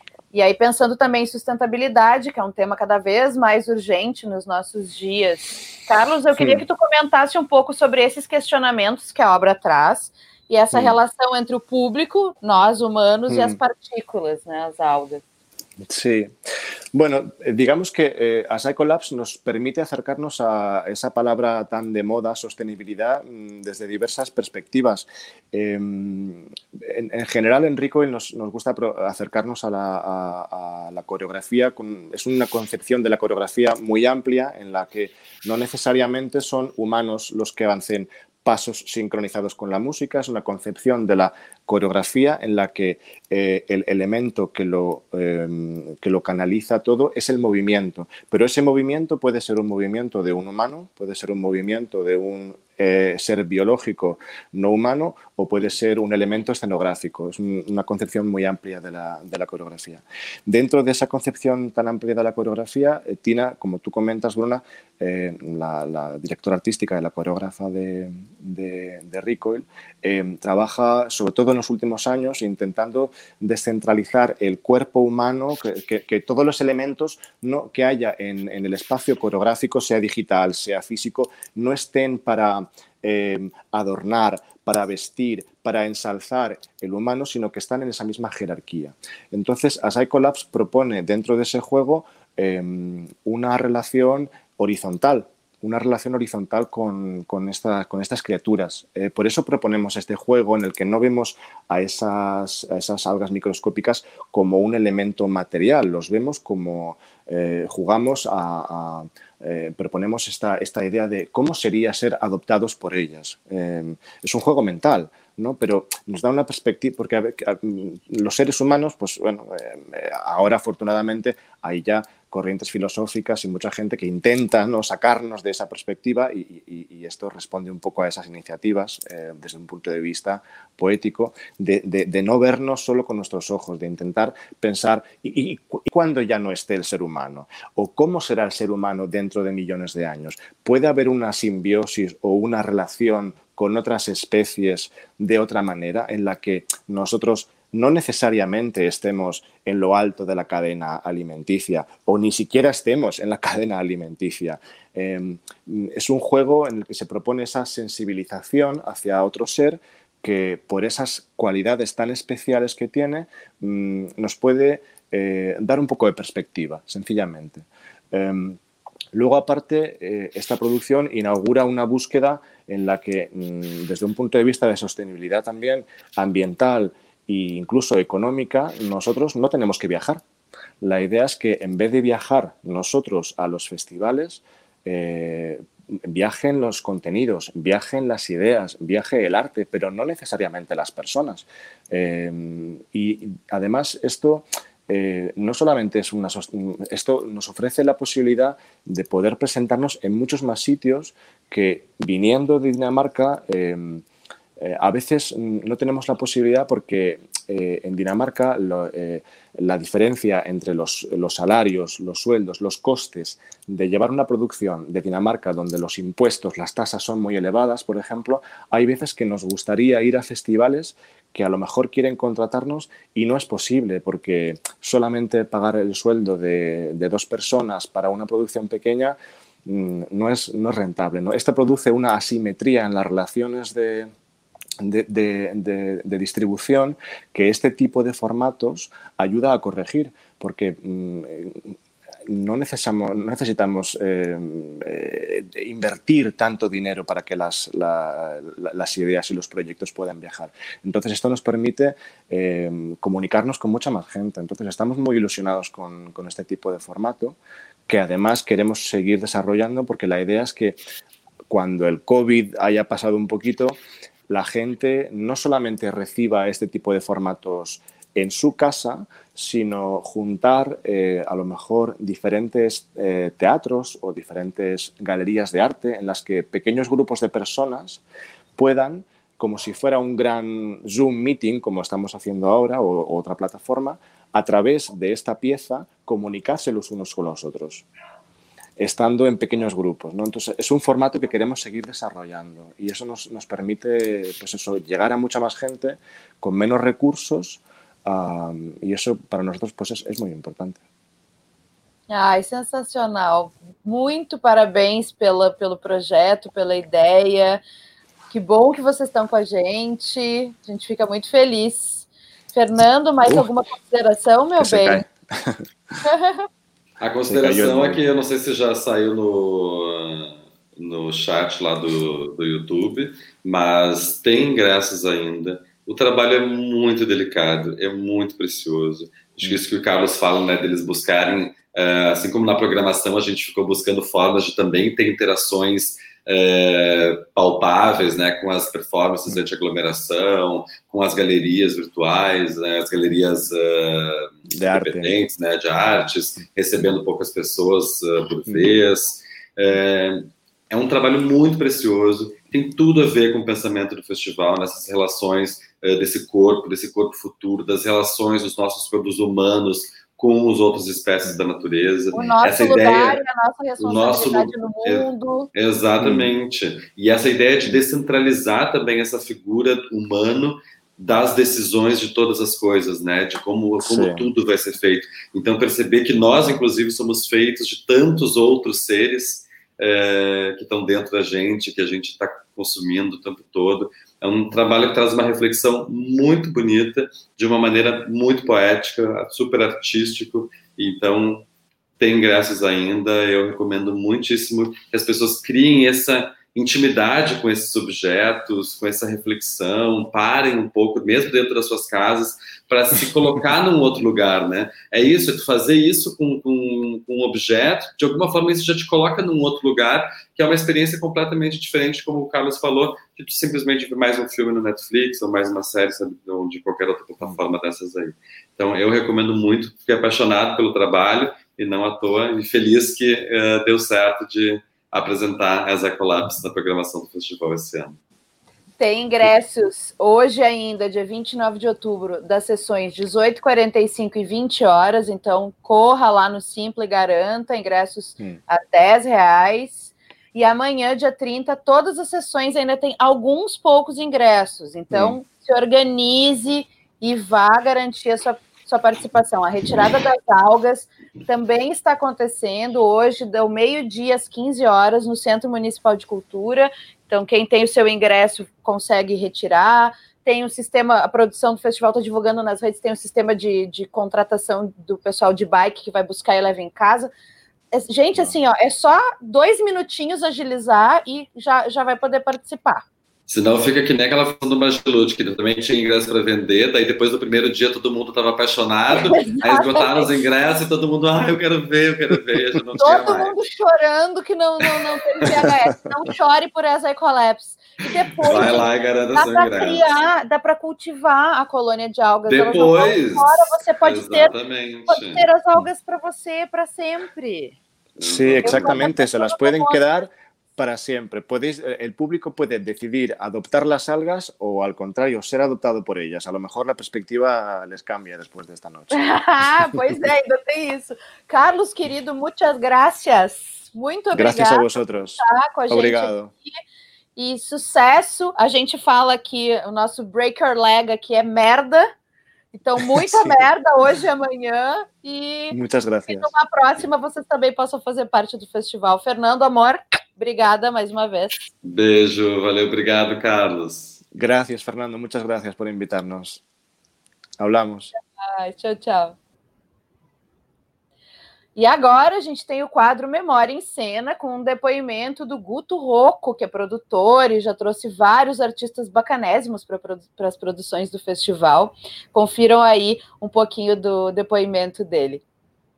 E aí, pensando também em sustentabilidade, que é um tema cada vez mais urgente nos nossos dias. Carlos, eu queria Sim. que tu comentasse um pouco sobre esses questionamentos que a obra traz e essa Sim. relação entre o público, nós humanos, Sim. e as partículas, né, as algas. Sí, bueno, digamos que eh, a Psycholapse nos permite acercarnos a esa palabra tan de moda, sostenibilidad, desde diversas perspectivas. Eh, en, en general, en Recoil nos, nos gusta acercarnos a la, a, a la coreografía. Con, es una concepción de la coreografía muy amplia en la que no necesariamente son humanos los que avancen pasos sincronizados con la música. Es una concepción de la coreografía en la que eh, el elemento que lo, eh, que lo canaliza todo es el movimiento. Pero ese movimiento puede ser un movimiento de un humano, puede ser un movimiento de un eh, ser biológico no humano o puede ser un elemento escenográfico. Es un, una concepción muy amplia de la, de la coreografía. Dentro de esa concepción tan amplia de la coreografía, eh, Tina, como tú comentas, Bruna, eh, la, la directora artística y la coreógrafa de, de, de Recoil, eh, trabaja sobre todo en los últimos años intentando descentralizar el cuerpo humano, que, que, que todos los elementos no, que haya en, en el espacio coreográfico, sea digital, sea físico, no estén para eh, adornar, para vestir, para ensalzar el humano, sino que están en esa misma jerarquía. Entonces, a Psycholapse propone dentro de ese juego eh, una relación horizontal, una relación horizontal con, con, esta, con estas criaturas. Eh, por eso proponemos este juego en el que no vemos a esas, a esas algas microscópicas como un elemento material, los vemos como eh, jugamos a... a eh, proponemos esta, esta idea de cómo sería ser adoptados por ellas. Eh, es un juego mental, ¿no? Pero nos da una perspectiva, porque a ver, a, los seres humanos, pues bueno, eh, ahora afortunadamente hay ya corrientes filosóficas y mucha gente que intenta, ¿no?, sacarnos de esa perspectiva y, y, y esto responde un poco a esas iniciativas eh, desde un punto de vista poético de, de, de no vernos solo con nuestros ojos, de intentar pensar ¿y, y, y cuándo ya no esté el ser humano? ¿O cómo será el ser humano dentro de millones de años? ¿Puede haber una simbiosis o una relación con otras especies de otra manera en la que nosotros no necesariamente estemos en lo alto de la cadena alimenticia o ni siquiera estemos en la cadena alimenticia? Eh, es un juego en el que se propone esa sensibilización hacia otro ser que por esas cualidades tan especiales que tiene mmm, nos puede eh, dar un poco de perspectiva, sencillamente. Eh, Luego, aparte, eh, esta producción inaugura una búsqueda en la que, mmm, desde un punto de vista de sostenibilidad también, ambiental e incluso económica, nosotros no tenemos que viajar. La idea es que en vez de viajar nosotros a los festivales, eh, viajen los contenidos, viajen las ideas, viaje el arte, pero no necesariamente las personas. Eh, y además esto... Eh, no solamente es una... Esto nos ofrece la posibilidad de poder presentarnos en muchos más sitios que, viniendo de Dinamarca, eh, eh, a veces no tenemos la posibilidad porque eh, en Dinamarca lo, eh, la diferencia entre los, los salarios, los sueldos, los costes de llevar una producción de Dinamarca donde los impuestos, las tasas son muy elevadas, por ejemplo, hay veces que nos gustaría ir a festivales que a lo mejor quieren contratarnos y no es posible porque solamente pagar el sueldo de, de dos personas para una producción pequeña mmm, no, es, no es rentable, ¿no? Esto produce una asimetría en las relaciones de, de, de, de, de distribución que este tipo de formatos ayuda a corregir porque mmm, no necesitamos, no necesitamos eh, eh, invertir tanto dinero para que las, la, la, las ideas y los proyectos puedan viajar. Entonces, esto nos permite eh, comunicarnos con mucha más gente. Entonces, estamos muy ilusionados con, con este tipo de formato, que además queremos seguir desarrollando porque la idea es que cuando el COVID haya pasado un poquito, la gente no solamente reciba este tipo de formatos en su casa, sino juntar eh, a lo mejor diferentes eh, teatros o diferentes galerías de arte en las que pequeños grupos de personas puedan, como si fuera un gran Zoom meeting, como estamos haciendo ahora, o, o otra plataforma, a través de esta pieza, comunicarse los unos con los otros, estando en pequeños grupos, ¿no? Entonces, es un formato que queremos seguir desarrollando y eso nos, nos permite, pues eso, llegar a mucha más gente con menos recursos, um, y eso para nosotros pues es, es muy importante. Ai, sensacional. Muito parabéns pela, pelo projeto, pela ideia. Que bom que vocês estão com a gente. A gente fica muito feliz. Fernando, mais uh, alguma consideração, meu bem? A consideração é que eu não sei se já saiu no, no chat lá do, do YouTube, mas tem ingressos ainda. O trabalho é muito delicado, é muito precioso. Acho que isso que o Carlos fala, né, deles buscarem, uh, assim como na programação a gente ficou buscando formas de também ter interações uh, palpáveis, né, com as performances de aglomeração, com as galerias virtuais, né, as galerias uh, de independentes, arte. Né, de artes, recebendo poucas pessoas uh, por vez. Uh, é um trabalho muito precioso, tem tudo a ver com o pensamento do festival, nessas relações uh, desse corpo, desse corpo futuro, das relações dos nossos corpos humanos com as outras espécies da natureza. O nosso essa lugar ideia, e a nossa responsabilidade nosso, no mundo. É, exatamente. E essa ideia de descentralizar também essa figura humana das decisões de todas as coisas, né? De como, como tudo vai ser feito. Então, perceber que nós, inclusive, somos feitos de tantos outros seres é, que estão dentro da gente, que a gente está consumindo o tempo todo. É um trabalho que traz uma reflexão muito bonita, de uma maneira muito poética, super artístico. Então, tem ingressos ainda. Eu recomendo muitíssimo que as pessoas criem essa intimidade com esses objetos, com essa reflexão, parem um pouco, mesmo dentro das suas casas, para se colocar num outro lugar, né? É isso, é tu fazer isso com, com, com um objeto, de alguma forma isso já te coloca num outro lugar, que é uma experiência completamente diferente, como o Carlos falou, que tu simplesmente vê mais um filme no Netflix, ou mais uma série, sabe, ou de qualquer outra plataforma dessas aí. Então, eu recomendo muito, fiquei apaixonado pelo trabalho, e não à toa, e feliz que uh, deu certo de apresentar as Ecolabs na programação do festival esse ano. Tem ingressos hoje ainda, dia vinte e nove de outubro, das sessões dezoito, quarenta e cinco e vinte horas, então corra lá no Simpla e garanta ingressos hum. a dez reais. E amanhã, dia trinta, todas as sessões ainda tem alguns poucos ingressos, então hum. se organize e vá garantir a sua sua participação. A retirada das algas também está acontecendo hoje, do meio-dia às quinze horas, no Centro Municipal de Cultura. Então, quem tem o seu ingresso consegue retirar. Tem um sistema, a produção do festival está divulgando nas redes, tem um sistema de, de contratação do pessoal de bike que vai buscar e leva em casa. Gente, assim, ó, é só dois minutinhos agilizar e já, já vai poder participar. Senão fica que nem aquela função do Magilute, que também tinha ingresso para vender, daí depois do primeiro dia todo mundo estava apaixonado, aí esgotaram os ingressos e todo mundo, ah, eu quero ver, eu quero ver, já não todo tinha mundo mais. Chorando que não, não, não teve V H S. Não chore por essa Ecolabs. E depois, vai lá e garanta dá para ingresso. criar, dá para cultivar a colônia de algas. Depois, fora, você pode ter, exatamente. pode ter as algas para você para sempre. Sí, exactamente, se las pueden quedar para siempre. Podéis, el público puede decidir adoptar las algas o, al contrario, ser adoptado por ellas. A lo mejor la perspectiva les cambia después de esta noche. Pois é, ainda tem isso. Carlos, querido, muchas gracias. Muito obrigado. Gracias a vosotros. Tá com a gente Obrigado. Aqui. E sucesso. A gente fala que o nosso breaker leg aqui é merda. Então, muita merda hoje e amanhã. E muitas gracias. Que numa próxima vocês também possam fazer parte do festival. Fernando, amor, obrigada mais uma vez. Beijo, valeu, obrigado, Carlos. Gracias, Fernando, muchas gracias por invitarnos. Hablamos. Ai, tchau, tchau. E agora a gente tem o quadro Memória em Cena, com um depoimento do Guto Rocco, que é produtor e já trouxe vários artistas bacanésimos para produ- as produções do festival. Confiram aí um pouquinho do depoimento dele.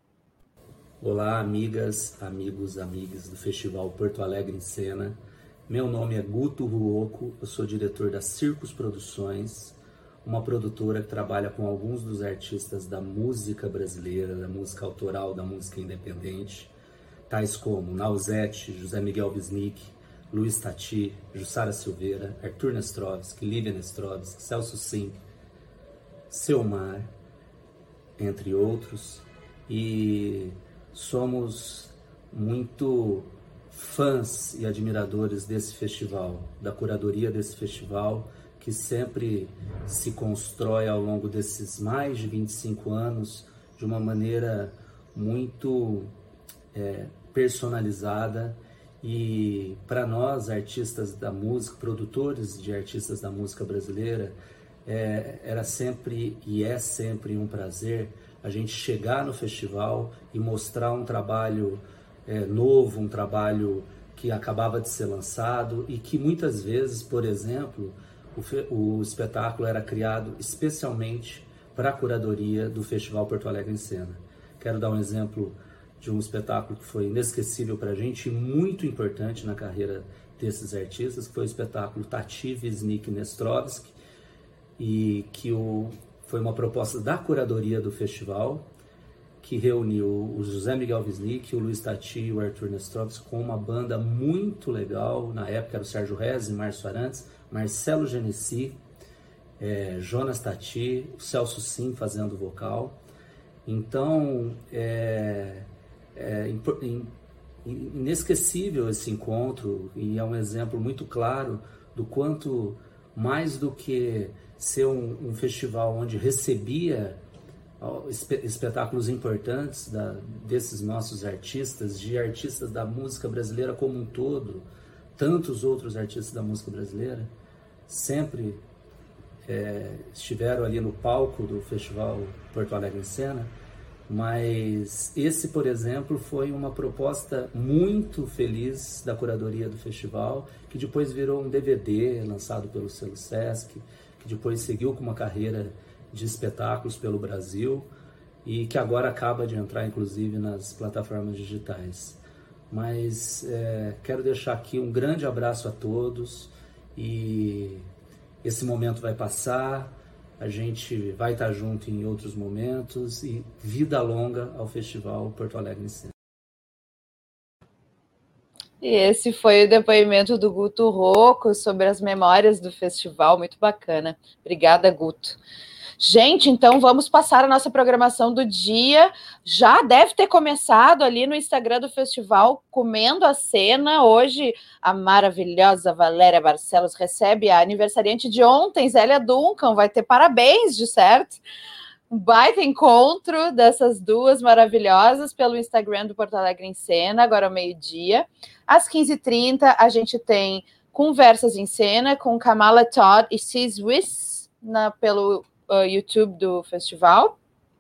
Olá, amigas, amigos, amigas do Festival Porto Alegre em Cena. Meu nome é Guto Ruoco, eu sou diretor da Circus Produções, uma produtora que trabalha com alguns dos artistas da música brasileira, da música autoral, da música independente, tais como Nausete, José Miguel Wisnik, Luiz Tati, Jussara Silveira, Arthur Nestrovski, Lívia Nestrovski, Celso Sim, Selmar, entre outros, e somos muito fãs e admiradores desse festival, da curadoria desse festival, que sempre se constrói ao longo desses mais de vinte e cinco anos de uma maneira muito é, personalizada. E para nós, artistas da música, produtores de artistas da música brasileira, é, era sempre e é sempre um prazer a gente chegar no festival e mostrar um trabalho é, novo, um trabalho que acabava de ser lançado e que muitas vezes, por exemplo, o, fe, o espetáculo era criado especialmente para a curadoria do Festival Porto Alegre em Cena. Quero dar um exemplo de um espetáculo que foi inesquecível para a gente e muito importante na carreira desses artistas, que foi o espetáculo Tati, Wisnik e Nestrovski, e que o, foi uma proposta da curadoria do festival, que reuniu o José Miguel Wisnik, o Luiz Tati e o Arthur Nestrovski com uma banda muito legal. Na época era o Sérgio Rezzi, Márcio Arantes, Marcelo Genesi, é, Jonas Tati, o Celso Sim fazendo vocal. Então, é, é inesquecível esse encontro e é um exemplo muito claro do quanto, mais do que ser um, um festival onde recebia espetáculos importantes da, desses nossos artistas, de artistas da música brasileira como um todo, tantos outros artistas da música brasileira, sempre é, estiveram ali no palco do Festival Porto Alegre em Cena, mas esse, por exemplo, foi uma proposta muito feliz da curadoria do festival, que depois virou um D V D lançado pelo selo Sesc, que depois seguiu com uma carreira de espetáculos pelo Brasil e que agora acaba de entrar, inclusive, nas plataformas digitais. Mas é, quero deixar aqui um grande abraço a todos e esse momento vai passar, a gente vai estar junto em outros momentos e vida longa ao Festival Porto Alegre em Cena. E esse foi o depoimento do Guto Ruoco sobre as memórias do festival, muito bacana. Obrigada, Guto. Gente, então vamos passar a nossa programação do dia. Já deve ter começado ali no Instagram do festival, Comendo a Cena. Hoje, a maravilhosa Valéria Barcelos recebe a aniversariante de ontem, Zélia Duncan. Vai ter parabéns, de certo? Um baita encontro dessas duas maravilhosas pelo Instagram do Porto Alegre em Cena, agora ao meio-dia. Às quinze e trinta, a gente tem Conversas em Cena com Kamala Todd e Cis Wiss na, pelo uh, YouTube do festival.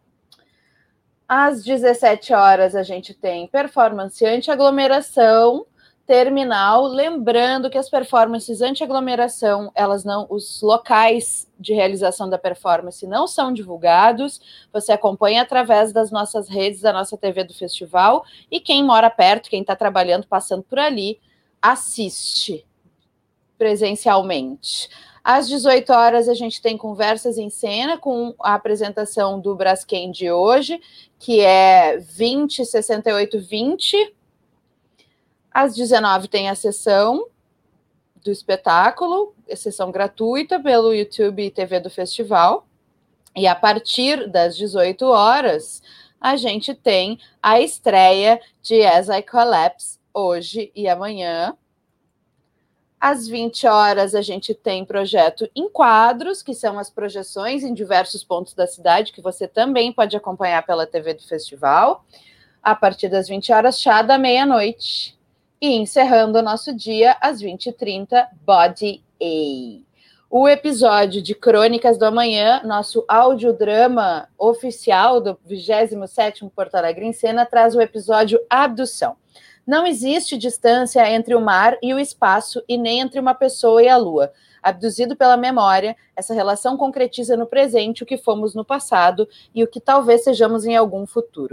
Às dezessete horas, a gente tem Performance Anti-Aglomeração Terminal. Lembrando que as performances anti-aglomeração, elas não, os locais de realização da performance não são divulgados. Você acompanha através das nossas redes, da nossa T V do festival, e quem mora perto, quem está trabalhando, passando por ali, assiste presencialmente. Às dezoito horas, a gente tem Conversas em Cena com a apresentação do Braskem de hoje, que é vinte sessenta e oito vinte. Às dezenove tem a sessão do espetáculo, a sessão gratuita pelo YouTube e T V do festival. E a partir das dezoito horas, a gente tem a estreia de As I Collapse, hoje e amanhã. Às vinte horas, a gente tem projeto Enquadros, que são as projeções em diversos pontos da cidade, que você também pode acompanhar pela T V do festival. A partir das vinte horas, chá da meia-noite. E encerrando o nosso dia, às vinte e trinta, Body A. O episódio de Crônicas do Amanhã, nosso audiodrama oficial do vigésimo sétimo Porto Alegre em Cena, traz o episódio Abdução. Não existe distância entre o mar e o espaço e nem entre uma pessoa e a lua. Abduzido pela memória, essa relação concretiza no presente o que fomos no passado e o que talvez sejamos em algum futuro.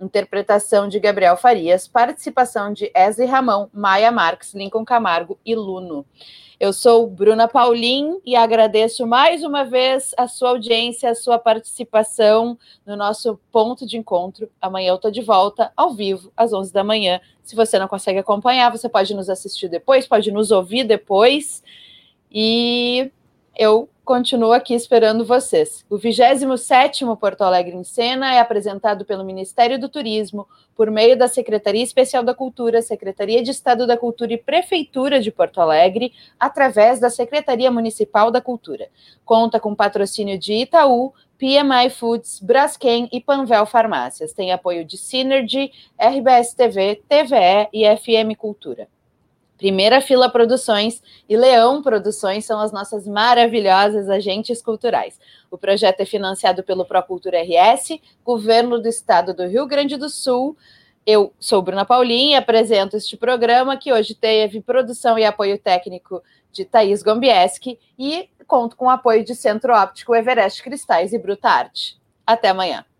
interpretação de Gabriel Farias, participação de Esli Ramão, Maia Marques, Lincoln Camargo e Luno. Eu sou Bruna Paulin e agradeço mais uma vez a sua audiência, a sua participação no nosso ponto de encontro. Amanhã eu estou de volta, ao vivo, às onze da manhã. Se você não consegue acompanhar, você pode nos assistir depois, pode nos ouvir depois. E eu continuo aqui esperando vocês. O vigésimo sétimo Porto Alegre em Cena é apresentado pelo Ministério do Turismo, por meio da Secretaria Especial da Cultura, Secretaria de Estado da Cultura e Prefeitura de Porto Alegre, através da Secretaria Municipal da Cultura. Conta com patrocínio de Itaú, P M I Foods, Braskem e Panvel Farmácias. Tem apoio de Synergy, R B S T V, T V E e F M Cultura. Primeira Fila Produções e Leão Produções são as nossas maravilhosas agentes culturais. O projeto é financiado pelo Procultura R S, Governo do Estado do Rio Grande do Sul. Eu sou Bruna Paulin e apresento este programa, que hoje teve produção e apoio técnico de Thaís Gombieski e conto com o apoio de Centro Óptico Everest Cristais e Bruta Arte. Até amanhã.